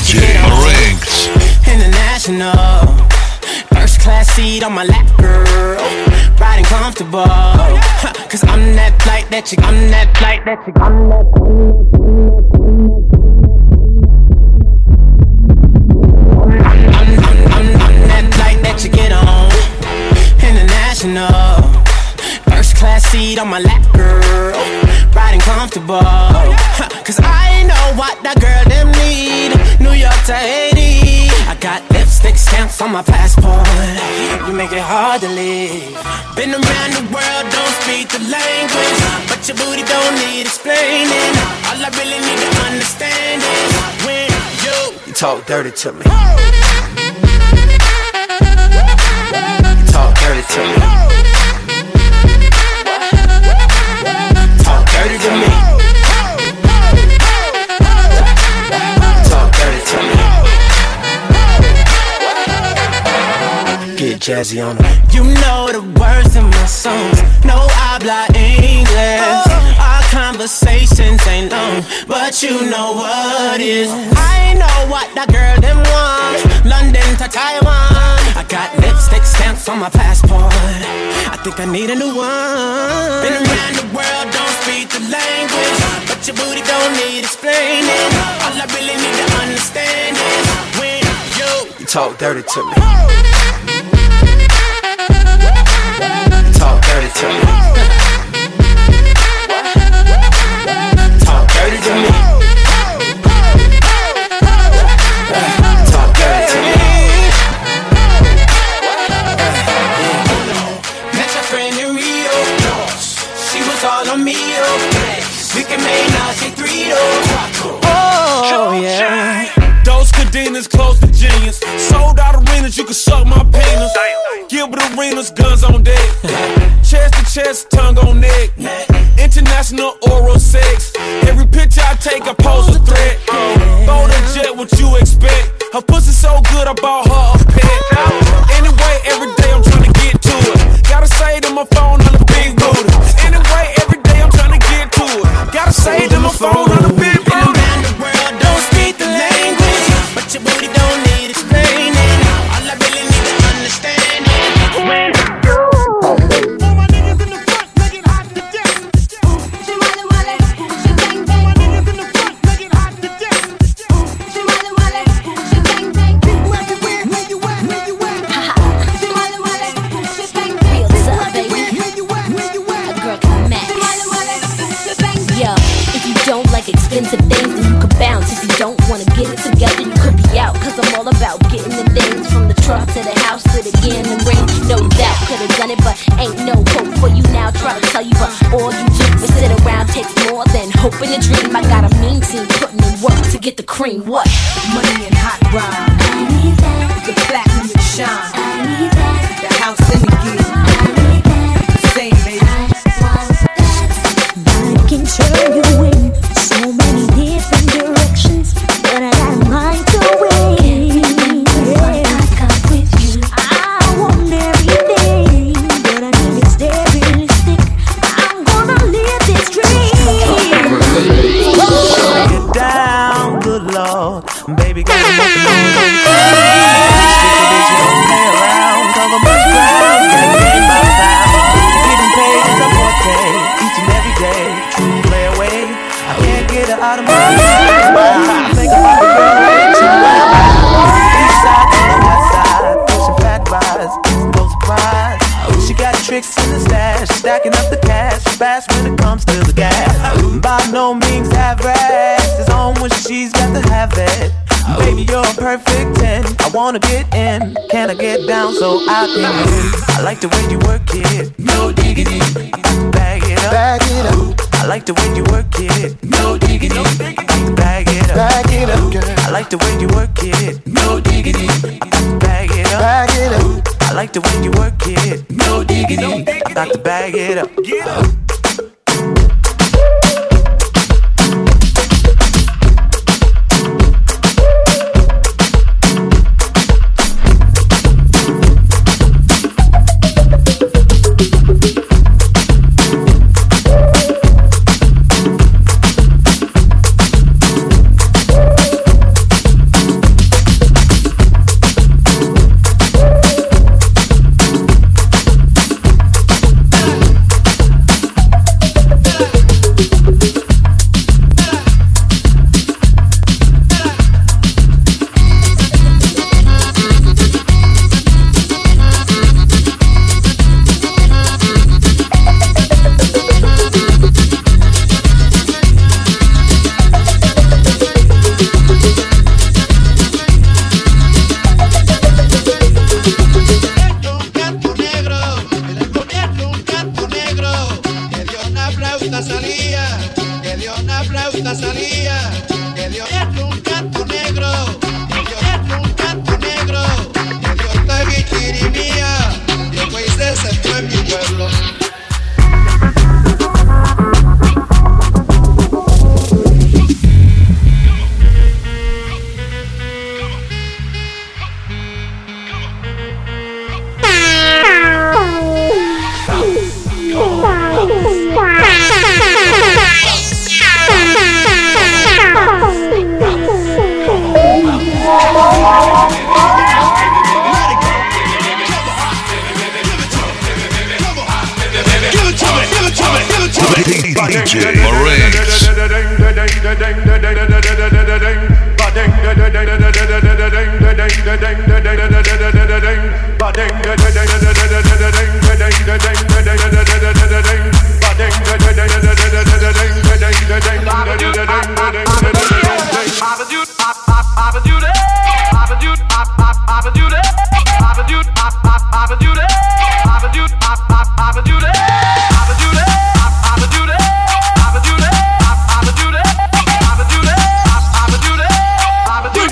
DJ Rinks. International. First class seat on my lap, girl. Riding comfortable. Cause I'm that flight that you, I'm that flight that you, I'm that I'm that flight that you get on. International. First class seat on my lap, girl. Riding comfortable. Cause I know what that girl them need. New York to Haiti. I got lipstick stamps on my passport. You make it hard to leave. Been around the world, don't speak the language, but your booty don't need explaining. All I really need to understand is when you talk dirty to me. You talk dirty to me. Talk dirty to me. Talk dirty to me. Get jazzy on them. You know the words of my songs. No habla English. Our conversations ain't long, but you know what is. I know what that girl them want. London to Taiwan. I got lipstick stamps on my passport. I think I need a new one. Been around the world, don't speak the language, but your booty don't need explaining. All I really need to understand is when you talk dirty to me. Talk dirty to me. Talk dirty to me. Talk dirty to me. Met your friend in Rio. She was all on me. We can make Nazi 3 Oh yeah. Those cadenas close to genius. Sold out arenas, you can suck my penis. Gilbert Arenas, guns on deck. Chest to chest, tongue on neck. International oral sex. Every picture I take, I pose a threat. Bold and jet, what you expect? Her pussy so good, I bought her a pet. Anyway, every day I'm trying to get to it. Gotta say to my phone on the big booty. Anyway, every day I'm trying to get to it. Gotta say to my phone on the big booty. Around the world, don't speak the language, but your booty don't need explaining. All I really need to understand is when you. All my niggas in the front, make it hot to death. Shimali wale, she bang bang. All my niggas in the front, make it hot to death. Shimali wale, she bang bang. People everywhere, where you at, where you at? Shimali wale, she bang bang. Real tough, baby. Where you at, where you at? A girl can match. Shimali wale, she bang bang. Yo, if you don't like expensive things, then you could bounce. If you don't wanna get it together, you could be out. Cause I'm all about getting the things from the truck to the house to the gambling ring. No doubt, could've done it, but ain't no hope for you now. Try to tell you, but all you do is sit around. Takes more than hope and a dream. I got a mean team putting in work to get the cream. What? Money and hot ride. I need that. The platinum and shine. I need that. The house and the gear. I need that. Same baby. I can turn you in so many different directions, but I got mine to win. I want everything, but I need to stay realistic. I'm gonna live this dream. Get down, good Lord. Baby, got to make a move. Stick a bitch, you don't play around. Cover much ground, can't get my sound. Getting paid is a forte, each and every day. True play away, I can't get her out of my mind. I think about the girl way too well. East side to the west side, pushing fat rides, no surprise. She got tricks in the stash, stacking up the cash, fast when it comes to the gas. By no means average, it's on when she's got to have it. Baby, you're a perfect 10. I wanna get in. Can I get down so I can win? I like the way you work it. No diggity. Bag it up. Bag it up. I like the way you work it. No diggity. Bag it up. Bag it up, girl. I like the way you work it. No diggity. Bag it up. Bag it up. I like the way you work it. No diggity. I got to bag it up. Get up.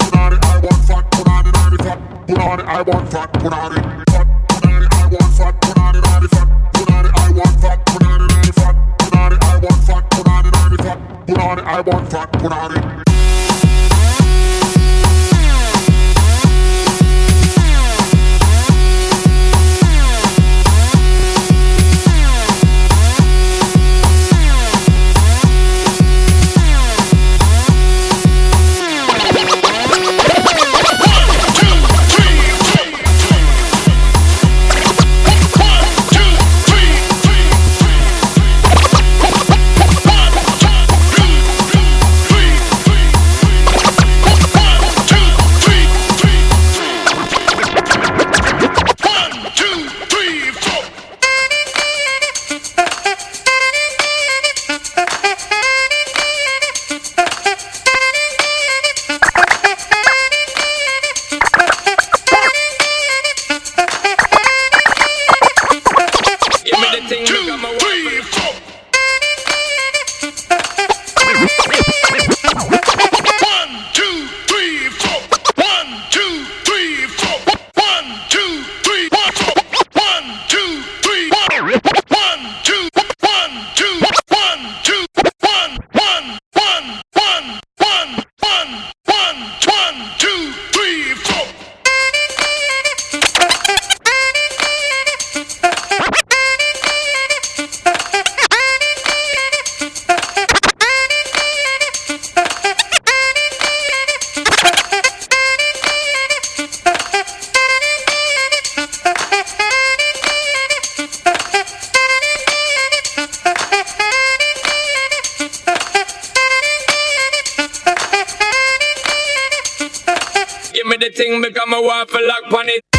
Thing become a waffle lock on it.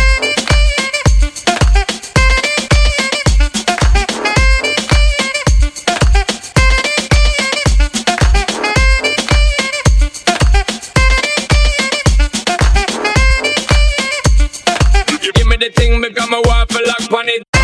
Give me the thing become a waffle lock on it.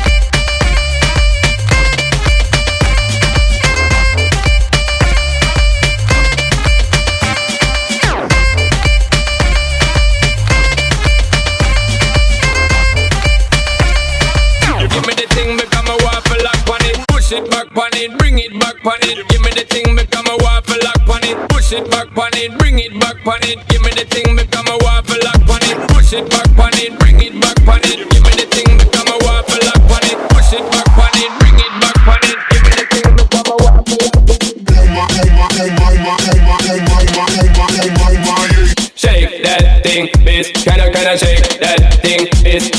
Push it back on it, bring it back on it. Give me the thing, become a waffle lock on it. Push it back on it, bring it back on it. Give me the thing, become a waffle lock on it. Push it back on it, bring it back on it. Give me the thing, become a waffle lock on it. Push it back on it, bring it back on it. Give me the thing, become a waffle lock on it. Shake that thing, bitch. Kinda shake that thing, bitch.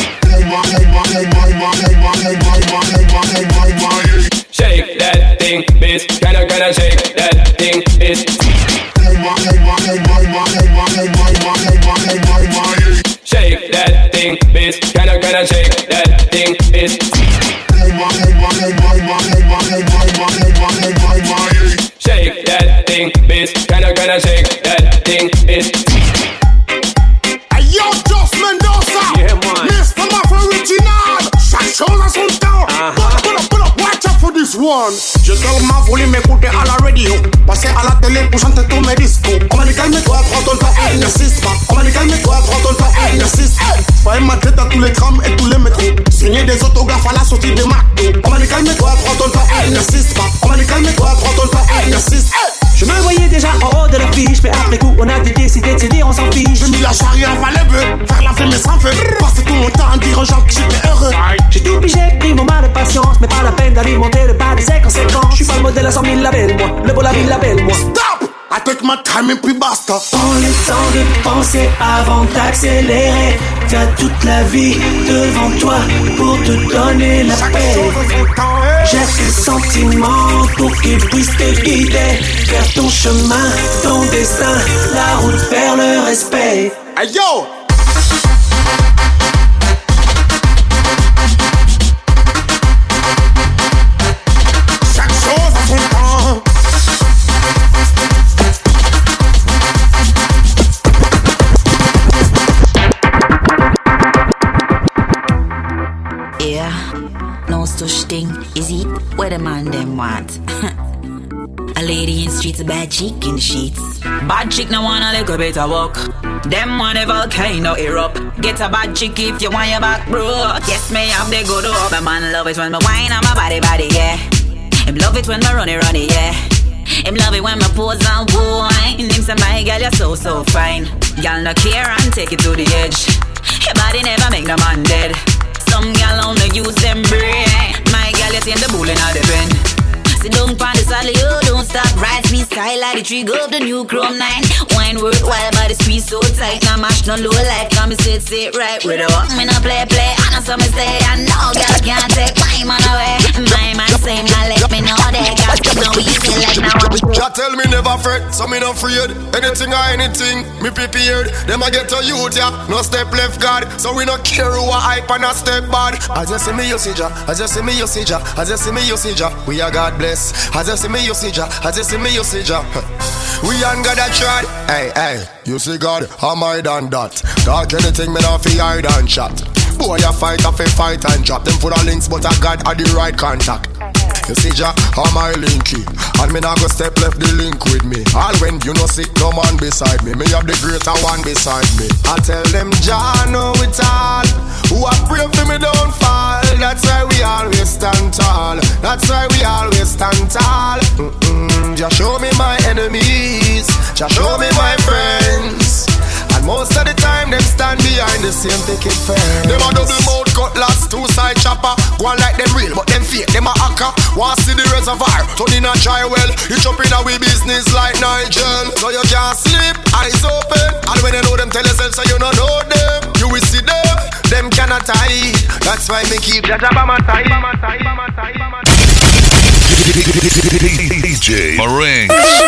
Shake that thing, bitch. Kinda shake that thing, bitch. Shake that thing, bitch. Kinda shake that thing, bitch. Shake that thing, bitch. Kinda shake that thing, bitch. Yo, Joss Mendoza, yeah, man. Mr. Maf Original. Chaque chose à son temps. Pull up, watch out for this one. Je tellement voulu m'écouter à la radio, passer à la télé pour chanter tous mes discours. On m'a dit calme-toi, prends ton temps, n'insiste pas. On m'a dit calme-toi, prends ton temps, n'insiste pas. Fallait ma tête à tous les trams et tous les métros. Signer des autographes à la sortie des McDo. On m'a dit calme-toi, prends ton temps, n'insiste pas. On m'a dit calme-toi, prends ton temps, n'insiste pas. Je me voyais déjà en haut de l'affiche, mais après coup on a décidé de se dire on s'en fiche. J'ai mis la charrière avant les bœufs, faire la fumée sans feu. Passer tout mon temps à dire aux gens que j'étais heureux. J'ai tout pigé, pris mon mal de patience, mais pas la peine d'alimenter le bas des 5 ans. J'suis pas le modèle à 100 000 labels, moi, le beau la ville label, moi. Stop! I take my time and puis basta. Prends le temps de penser avant d'accélérer. T'as toute la vie devant toi pour te donner la paix. J'ai ce sentiment pour qu'il puisse te guider vers ton chemin, ton destin, la route vers le respect. Hey yo! Chaque chose a son temps. Yeah, no such thing, is it? What the man them want? A lady in streets, a bad chick in the sheets. Bad chick no wanna little bit of walk. Them want a volcano erupt. Get a bad chick if you want your back broke. Yes, me have the good up. My man love it when me whine on my body, yeah. Him love it when me runny, yeah. Him love it when me pose and whine. Him say, my girl, you're so fine. Girl, no care and take it to the edge. Your body never make no man dead. Some girl only use them brain. My girl, you see the bull in the pen. Sit down pon the saddle, you don't stop. Rise me sky like the tree, go up the new Chrome 9. Wine worthwhile, but the squeeze so tight. Now mash no low life, come sit right. With a walk, me no play. I know some say, I know girl can't take my man away. My man say, now let me know that girl no easy like now. Jah tell me never fret, so me no afraid. Anything or anything, me prepared. Them I get to youth, yeah, no step left guard. So we no care who a hype and a step bad. I just see me, you see Jah. I just see me, you see Jah. I just see me, you see Jah. We are God bless. I just see me, you see Jah. I just see me, you see Jah. We ain't got that tried. Hey, you see God, am I done that? Talk anything, me not fi hide and chat. Boy, you fight and drop. Them for the links, but I got the right contact. You see Jah, am I linky? And me not go step left the link with me. All when you no see no man beside me. Me have the greater one beside me. I tell them Jah know it all. Who I pray for me don't fall. That's why we always stand tall. That's why we always stand tall. Jah show me my enemies. Jah show me my friends. And most of the time them stand behind the same picket fence. Them a double mouth cutlass, two side chopper. Go on like them real, but them fake, them a hacker. Want see the reservoir, turn in a dry well. You jump in a we business like Nigel. So you can't sleep, eyes open. And when you know them, tell yourself so you don't know them. You will see them cannot hide. That's why me keep that by my side. DJ Marinx.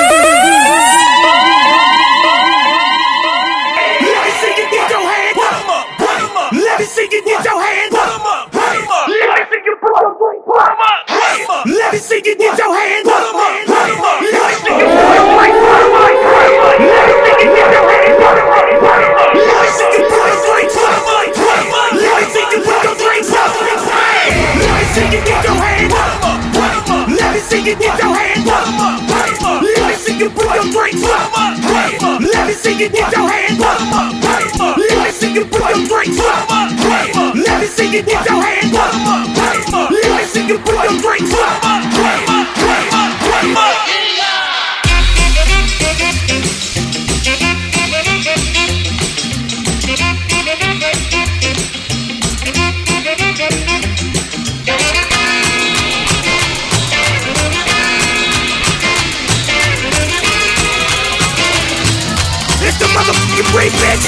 Let me see you get your hands up. Let me see you put your drink up. Let me see you get your hands up. Let me see you put your drink up. Let me see you get your hands up. Let me see you put your drink up. Let me see you put your drink up. Let me see you get your hands up. Let me see you get your hands up. Let me see you put your drink up. Let me see you get your hands up. Let me see you put your drinks up. Let me see you get your hands up. Let me see you put your drinks up. It's the motherfucking break bitch.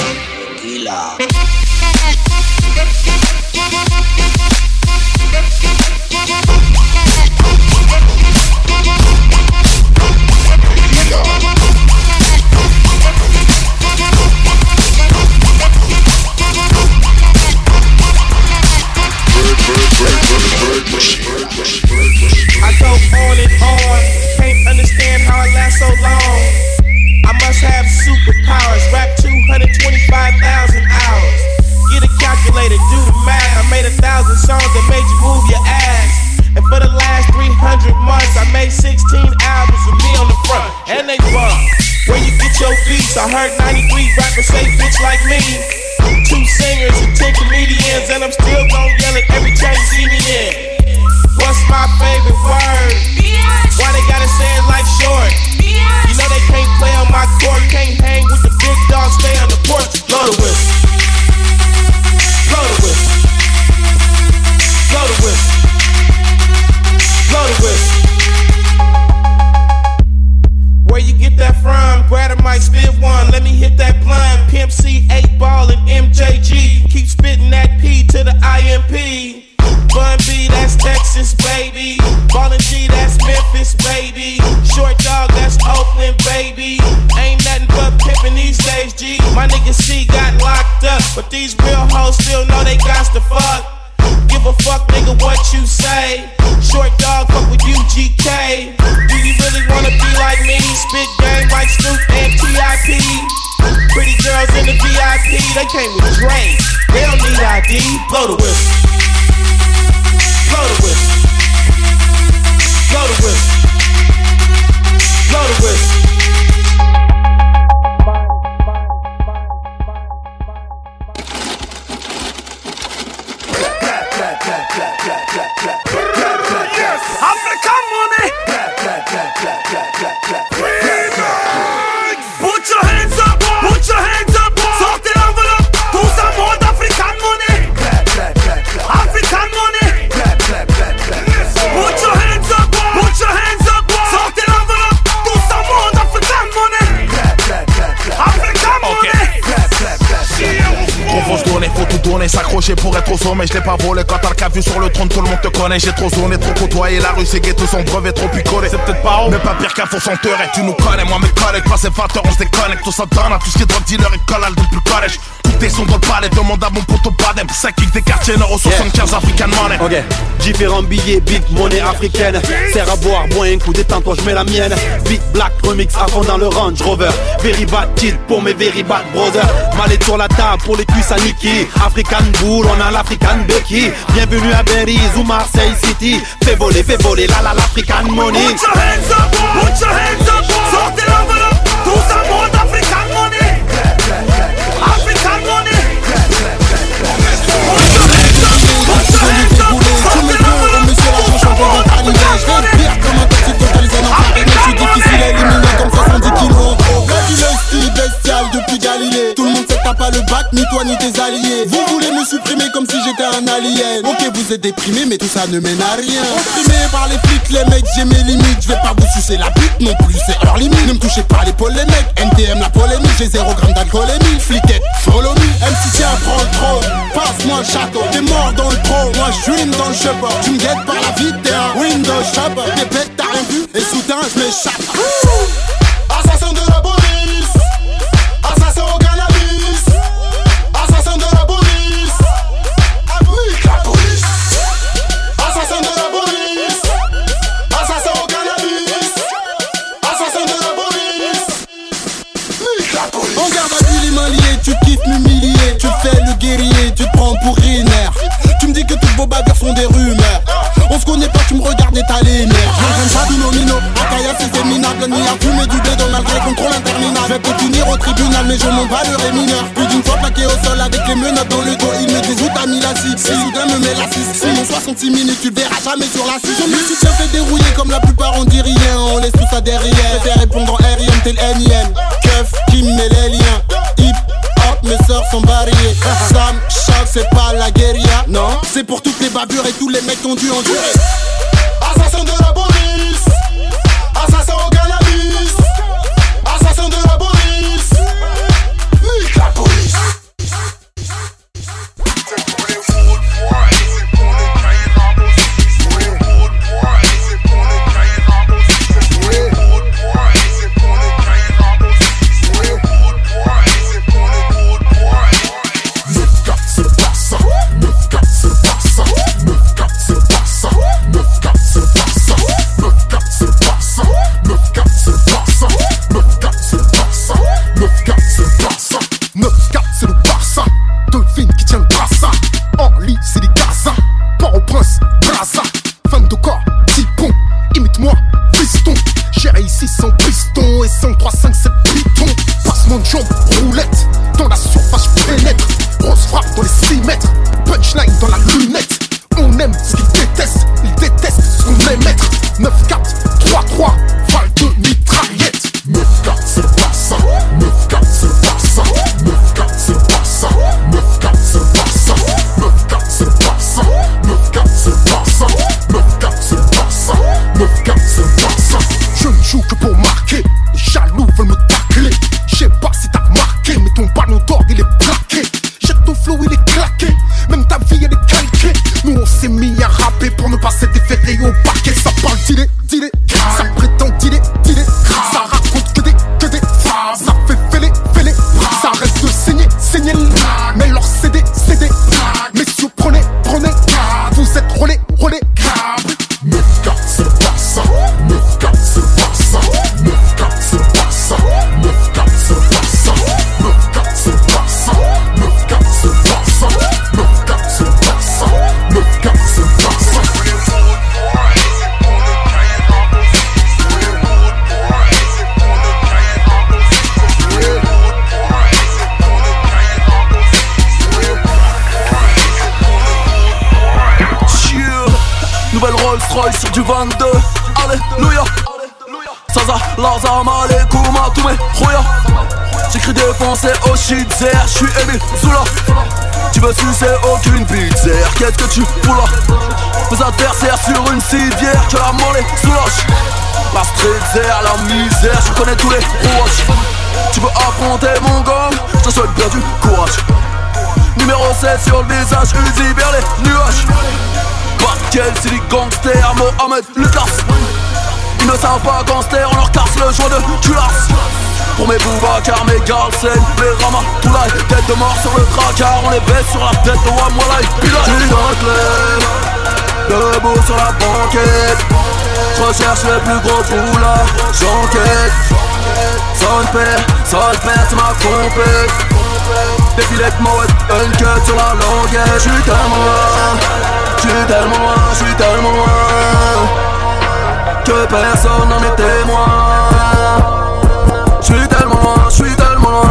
I go on and on, can't understand how I last so long. I must have superpowers, rap 225,000 hours. Get a calculator, do the math. I made 1,000 songs that made you move your ass. And for the last 300 months, I made 16 albums with me on the front, and they bump. Where you get your beats? I heard 93 rappers say bitch like me. 2 singers and 10 comedians, and I'm still gon' yell it every time you see me in. What's my favorite word? Why they gotta say it like short? You know they can't play on my court, can't hang with the big dogs, stay on the porch. Blow the whistle. Blow the whistle. Blow the whistle. Blow the whistle. Where you get that from? G. My nigga C got locked up, but these real hoes still know they got to fuck. Give a fuck, nigga, what you say. Short dog, fuck with UGK. Do you really wanna be like me? Spit game like Snoop and T.I.P. Pretty girls in the VIP, they came with Dre. They don't need ID. Blow the whistle. Blow the whistle. Blow the whistle. Blow the whistle. African money. Put your hands up, put your hands up. Sortez l'enveloppe, tous en mode African money. African money. Put your hands up, put your hands up. Sortez l'enveloppe, tous en mode African money. African money. Trop faut se donner, faut tout donner, s'accrocher pour être au sommet. Je l'ai pas volé quand t'as le cas vu sur le trône, tout le monde te connaît. J'ai trop zoné, trop côtoyé, la rue c'est ghetto, son brevet trop picolé. C'est peut-être pas haut, mais pas pire qu'un faux chanteur. Et tu nous connais, moi mes collègues, pas ces 20h, on se déconnecte. Tout ça donne à tout ce qui est drug dealer et collal depuis le collège. Toutes tes sons dans le palais, demande à mon poteau Badem. 5 kicks des quartiers nord au 75 African money. Ok, différents billets, big monnaie africaine. Serre à boire, bois un coup, détends-toi, je mets la mienne. Big black remix à fond dans le Range Rover. Very bad kill pour mes very bad brothers. Mallet sur la table pour les cuisses à Niki. African Bull, on a l'African Becky. Bienvenue à Belize ou Marseille City. Fais voler l'African money. Put your hands up, put your hands up. Sortez l'enveloppe, tous en mode African money. African money. Put your hands up, put your hands up. Sortez l'enveloppe, tous en mode African money. Comme un taxi totalisé en farine. Je suis difficile à éliminer comme 70 kilos. La dynastie bestiale depuis Galilée. Tout le monde sait que t'as pas le bac, ni toi ni tes alliés. Vous voulez me supprimer comme si j'étais un alien. Ok, vous êtes déprimé, mais tout ça ne mène à rien. Opprimé par les flics, les mecs, j'ai mes limites. Je vais pas vous sucer la bite non plus, c'est hors limite. Ne me touchez pas l'épaule, les mecs. NTM la polémique, j'ai 0 g d'alcoolémie. Fliquette, follow me. MC tiens, prends le trône. Passe-moi le château. T'es mort dans le pro, moi je suis dans le shopper. Tu me guettes par la vie, t'es un window shopper. T'es bête, t'as rien vu, et soudain je m'échappe. Assassin de la police. Assassin au cannabis. Assassin de la police. Nique la police. Assassin de la police. Assassin au cannabis. Assassin de la police. Nique la police. En garde à vue les mains liées, tu kiffes m'humilier. Tu fais le guerrier, tu te prends pour Riner. Tu me dis que toutes vos bagarres sont des rumeurs. On se connaît pas, tu me regardes et t'as les nerfs. J'entraîne pas du nomino, Akaya c'est féminable. Ni à fumer du blé malgré contrôle interminable. Je vais peut finir au tribunal mais je m'en bats le rémineur. Plus d'une fois plaqué au sol avec les menottes dans le dos. Il me désoute à mis la 6. Et soudain me met la 6. Sinon 66 minutes tu le verras jamais sur la 6. Je me suis bien fait dérouiller comme la plupart on dit rien. On laisse tout ça derrière. Je fais répondre en R.I.M. tel NIM. Keuf qui me met les liens. Hip hop mes sœurs sont variées. Sam Choc c'est pas la guérilla. Non, c'est pour toutes les bavures et tous les mecs ont dû endurer. Assassin de la police. Assassin au cannabis. Assassin de la police. Nique la police. 22, alléluia. Saza, Lazam, Alekouma, tous mes rouillas. J'écris des pensées au shit, j'suis Emile Zoula. Tu veux sucer aucune pizza, qu'est-ce que tu fous là? Mes adversaires sur une civière, que la mollet soulage. La street zère, la misère, je connais tous les rouages. Tu veux affronter mon gang, je te souhaite bien du courage. Numéro 7 sur le visage, Uzi vers les nuages. Batkel, Silly Gangster, Mohamed Lucas. Ils ne savent pas gangster, on leur casse le joint de culasse. Pour mes Boubacar, mes Galsen, mes Rama, Toulaï. Tête de mort sur le tracard, on les baisse sur la tête de Wamwalai. J'suis dans le club, debout sur la banquette. J'recherche les plus gros boulas, j'enquête. Son père, c'est ma compète. Défilé de mode, uncut sur la languette. J'suis tellement loin que personne n'en est témoin. J'suis tellement loin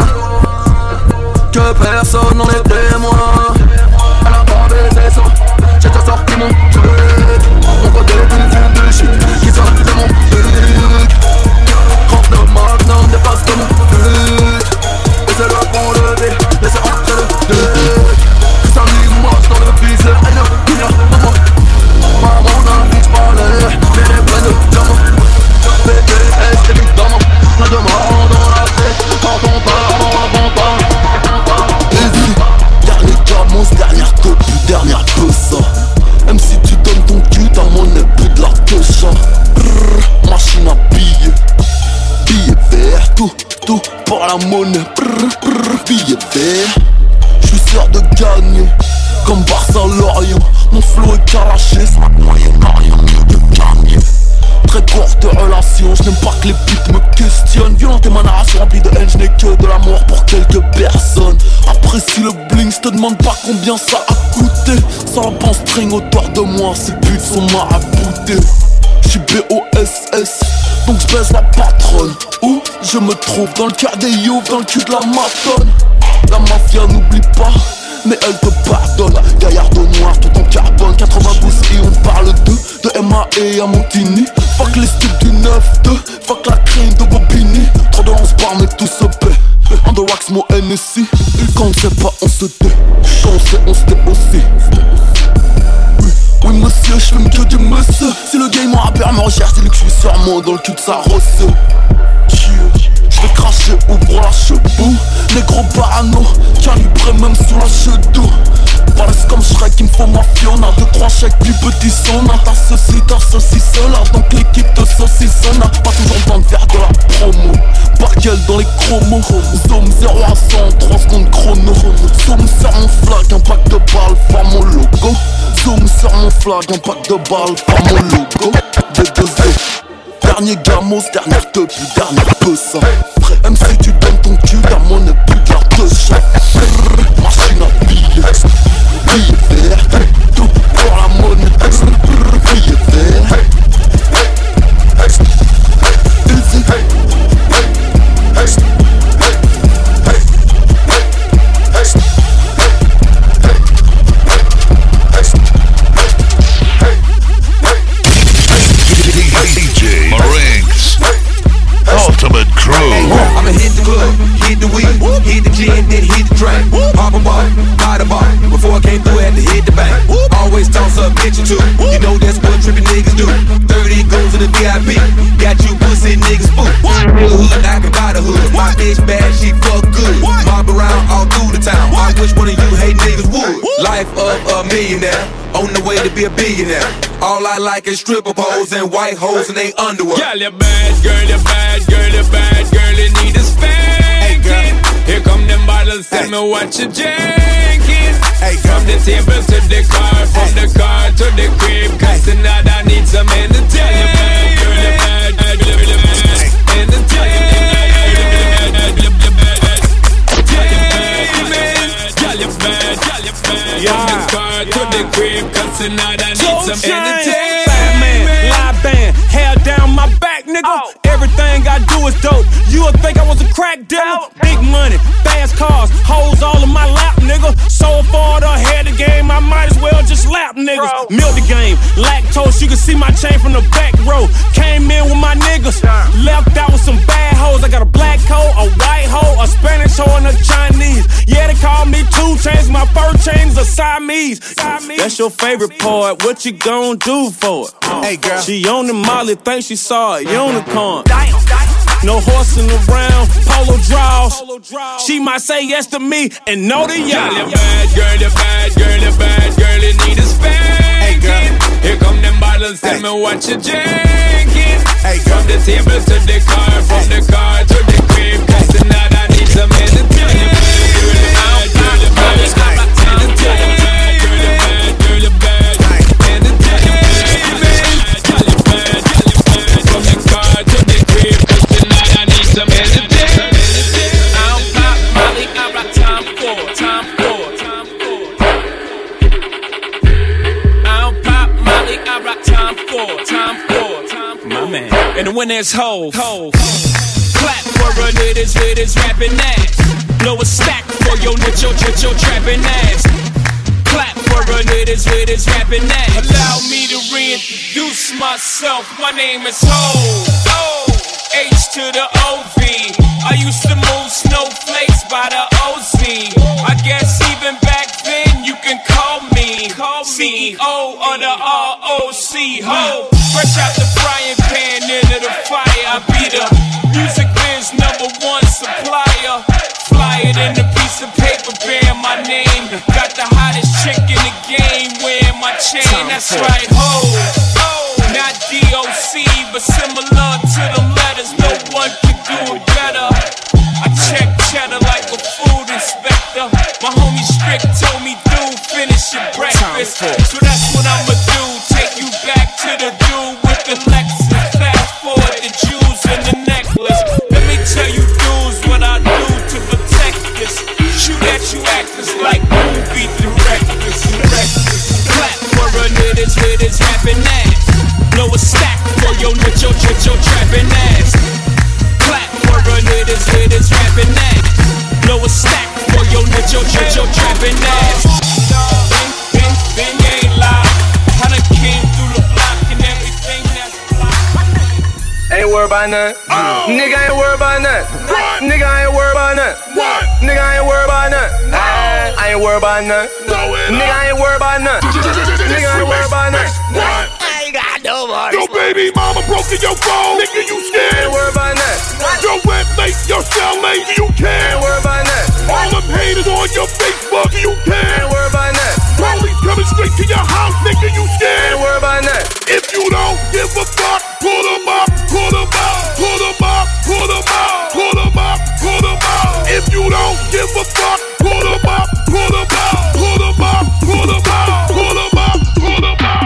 que personne n'en est témoin. Elle a pas baisé ça, j'ai déjà sorti mon truc. Mon côté d'une fille de shit qui sort de mon truc. 39 maintenant dépasse de mon truc. Laissez-le pour lever, laissez entrer le truc. Ça lui marche dans le viseur, elle ne vient pas moi. Maman d'un bitch parlait, mais les pleines de diamants. BTS évidemment, plein de morts dans la tête. Quand on part, Easy, dernier gamos, dernière copie, dernière peusa. Même si tu donnes ton cul, ta monnaie plus de la touche. Machine à billets, billets verts, tout pour la monnaie. Billets verts, j'suis sûr de gagner, comme Barça Lorient. Mon flow est caraché, ça moyen n'a rien mieux de gagner. Très courte relation, je n'aime pas que les putes me questionnent. Violente et ma narration remplie de haine, je n'ai que de l'amour pour quelques personnes. Apprécie le bling, je te demande pas combien ça a coûté. Sans la pense string autour de moi, ces putes sont maraboutées. J'suis BOSS, donc j'baise la patronne. Où je me trouve dans le cœur des youths, dans le cul de la matonne. La mafia n'oublie pas, mais elle te pardonne. Gaillarde au noir, tout en carbone. 92 et on parle de MAE à Montigny. Fuck les styles du 9-2, fuck la crème de Bobigny. Trop de lance par mais tout se paie. On the wax, mon NSI. Quand on sait pas, on se tait. Quand on sait, on se tait aussi. Oui monsieur, j'fume que du monsieur. Si le game en rappeur me recherche, dis-lui que j'suis sûrement dans le cul de sa rosse. J'vais cracher, ouvre la cheveux. Les gros parano, calibré même sur la cheveux. Balèze comme Shrek, il me faut ma Fiona. 2-3 chèques, puis petit sauna. T'as ceci, cela, donc l'équipe te saucissonne. Pas toujours le temps de faire de la promo. Barkel dans les chromos. Zoom 0 à 100, 3 secondes chrono. Zoom sur mon flag, un pack de balles, faire mon logo. Zoom sur mon flag, un pack de balles, faire mon logo. D2O. Dernier gamos, dernière teuf, dernière peusa. Même si tu donnes ton cul, ta monnaie plus de la touche. Machine à billets, billets verts, tout pour la monnaie. Billets verts, Easy. DJ Marinx, Ultimate Crew. I'ma hit the club, hit the weed, hit the gin, then hit the drink. Pop a bar, buy the bar. Before I came through, had to hit the bank. Always toss up, bitch or two. You know that's what trippin' niggas do. 30 goes in the VIP. Got you pussy niggas spook. Real hood, I can buy the hood. My bitch bad, she fuck good. Mob around all through the town. I wish one of you hate niggas would. Life of a millionaire, on the way to be a billionaire. All I like is stripper poles and white hoes in they underwear. Girl, you bad, girl, you bad, girl, you bad, girl, you need a spanking. Here come them bottles, tell me what you drinking. From the table to the car, from the car to the crib, cause tonight I need some entertainment. Girl, you bad, girl, you bad, entertainment. Girl, you bad, from the car to the crib, cause tonight I need some entertainment. Fat man, live band, hair down my back, nigga. Everything I do is dope. You would think I was a crack dealer. Big money, fast cars, hoes all in my lap, nigga. So far ahead of the game, I might as well just lap, nigga. niggas. Milk the game, lactose, you can see my chain from the back row. Came in with my niggas, left out with some bad hoes. I got a black hoe, a white hoe, a Spanish hoe, and a Chinese. Yeah, they call me 2 Chainz, my fur chain is a Siamese. That's your favorite part, what you gon' do for it? Hey girl, she on the Molly, think she saw a unicorn. No horsing around, polo draws. She might say yes to me and no to y'all. Girl, you bad, girl, you bad, girl, you bad, girl, you need a spanking. Here come them bottles, tell me what you drinking. From the table to the car, from the car to the crib, 'cause tonight I need some entertainment. Girl, you bad, girl, you bad, girl, you bad, girl, you bad, girl, you bad. From the car to the crib, 'cause tonight I need some entertainment. I don't pop Molly, I rock time for. I don't pop Molly, I rock time for. My man. And when there's hoes, clap for a niggas with his rapping ass. Blow a stack for your trapping ass. Clap for a niggas with his rapping ass. Allow me to reintroduce myself. My name is Ho. H to the OV. I used to move snowflakes by the OZ. I guess even back then you can call me CEO of the ROC. Ho, fresh out the frying pan into the fire. I be the music biz #1 supplier. Fly it in a piece of paper bearing my name. Got the hottest chick in the game wearing my chain. That's right, ho. Not DOC, but similar to them letters. No one can do it better. I check cheddar like a food inspector. My homie Strick told me, dude, finish your breakfast. So that's what I'ma do. Take you back to the dude with the Lexus. Fast forward the jewels and the necklace. Let me tell you, dudes, what I do to protect this. Shoot at you actors like movie directors. Clap for a niggas with his rapping ass. Blow a stack for your trapping ass. Clap for a niggas with his rapping ass. Blow a stack for your trapping ass. Been ain't live. I done came through the block and everything that's Ain't worried about none. Nigga ain't worried about none. Nigga ain't worried about none. Nigga ain't worried about none. I ain't worried about none. Nigga ain't worried about none. Nigga ain't worried about none. I ain't got no money. Your baby mama broke in your phone, nigga, you scared. Ain't worried about none. Your rent late, your cell late, you care. Ain't worried about none. All them haters on your Facebook, you care. Ain't worried about none. Police coming straight to your house, nigga, you scared. Ain't worried about none. If you don't give a fuck, pull them up, pull them out, pull them up, pull them out, pull them up, pull them out. If you don't give a fuck, pull them up, pull them out, pull them up, pull them out, pull them up, pull them out.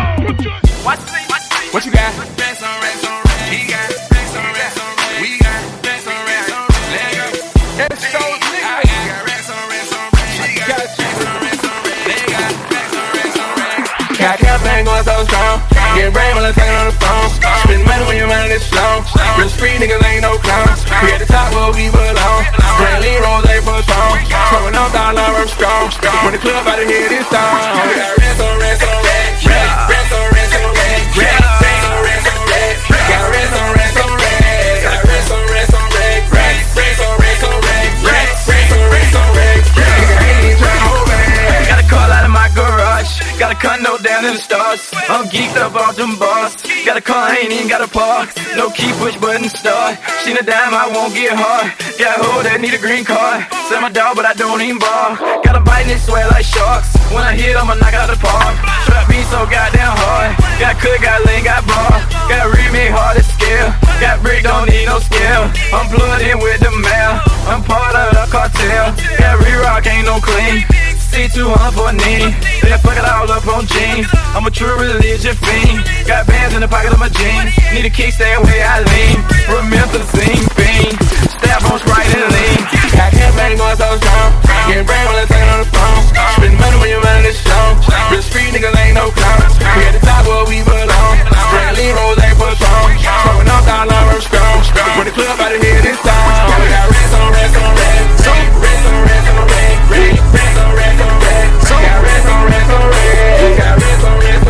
What you got? Racks on racks on racks. He got racks on racks on racks. We got racks on racks on racks. Let go. It's so nigga. I got racks on racks on racks. She got racks on racks on racks. They got racks on racks on racks. Got campaign going so strong. Get brain when I'm talking on the phone. Spend money when your mind is slow. Real street niggas ain't no clowns. We at the top where we belong. Brantley Rose, they for strong. Throwing up dollar, I'm strong. When the club out of here, this song. We got racks on racks on racks. Racks on racks on racks. Racks on racks on racks. Got racks on racks on racks. Got racks on racks on racks. Racks on racks on racks. Racks on racks on racks. Nigga ain't even tryna hold back. Got a call out of my garage. Got a condo down in the stars. I'm geeked up off them bars. Got a car, I ain't even got a park. No key, push button, start. Seen a dime, I won't get hard. Got a hoe that need a green card. Sell my dog, but I don't even bar. Got a bite and it sweat like sharks. When I hit, I'ma knock out the park. Trap me so goddamn hard. Got cook, got lean, got bar. Got remake hard to scale. Got brick, don't need no scale. I'm plugged in with the mail. I'm part of the cartel. Got re-rock, ain't no clean. C200 for a knee. Then fuck it all up on jeans. I'm a true religion fiend. Got bands in the pocket of my jeans. Need a kickstand where I lean. Remember the scene fiend. Stab on Sprite and lean. Got campaign going so strong. Getting brain when I'm talking on the phone. Spend money when your mind is strong. Real street niggas ain't no clowns. We at the top where we belong. Brantley Rose ain't for strong. Throwing up dollar, I'm strong. When the club out of here, this song. We got racks on racks on racks. Racks on racks on racks. Racks on racks on racks. Got racks on racks on racks. Got racks on racks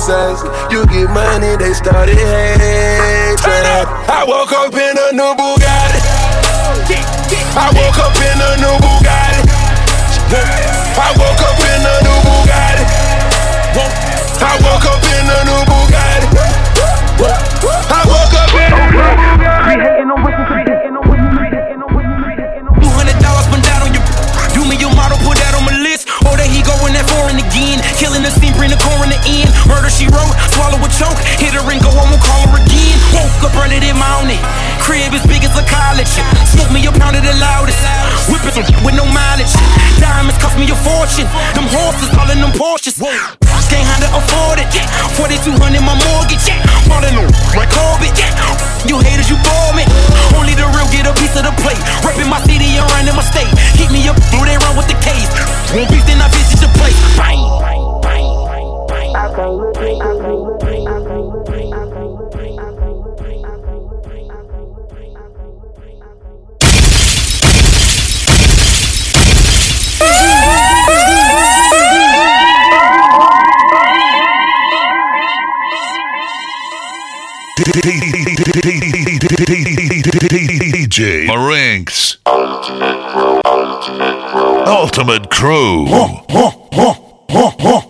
criticize. You get money, they started hating. I woke up in a new Bugatti. I woke up in a new Bugatti. I woke up in a new Bugatti. I woke up in a new Bugatti. I woke up in a new Bugatti. $200 spent out on your. Do me your model, put that on my list. Or that he going that foreign again. Killing the scene, bring the coroner in. Murder she wrote, swallow a choke. Hit her and go home and call her again. Woke up early in morning. Crib as big as a college. Smoke me a pound of the loudest. Whipping some with no mileage. Diamonds cost me a fortune. Them horses calling them Porsches. Can't handle afford it. 4,200 my mortgage. Falling on like Corbett. You haters, you bore me. Only the real get a piece of the plate. Repping my city and running my state. Keep me up, through they run with the case. Won't beef, then I visit the place. Bang. DJ Marinks Ultimate Crew.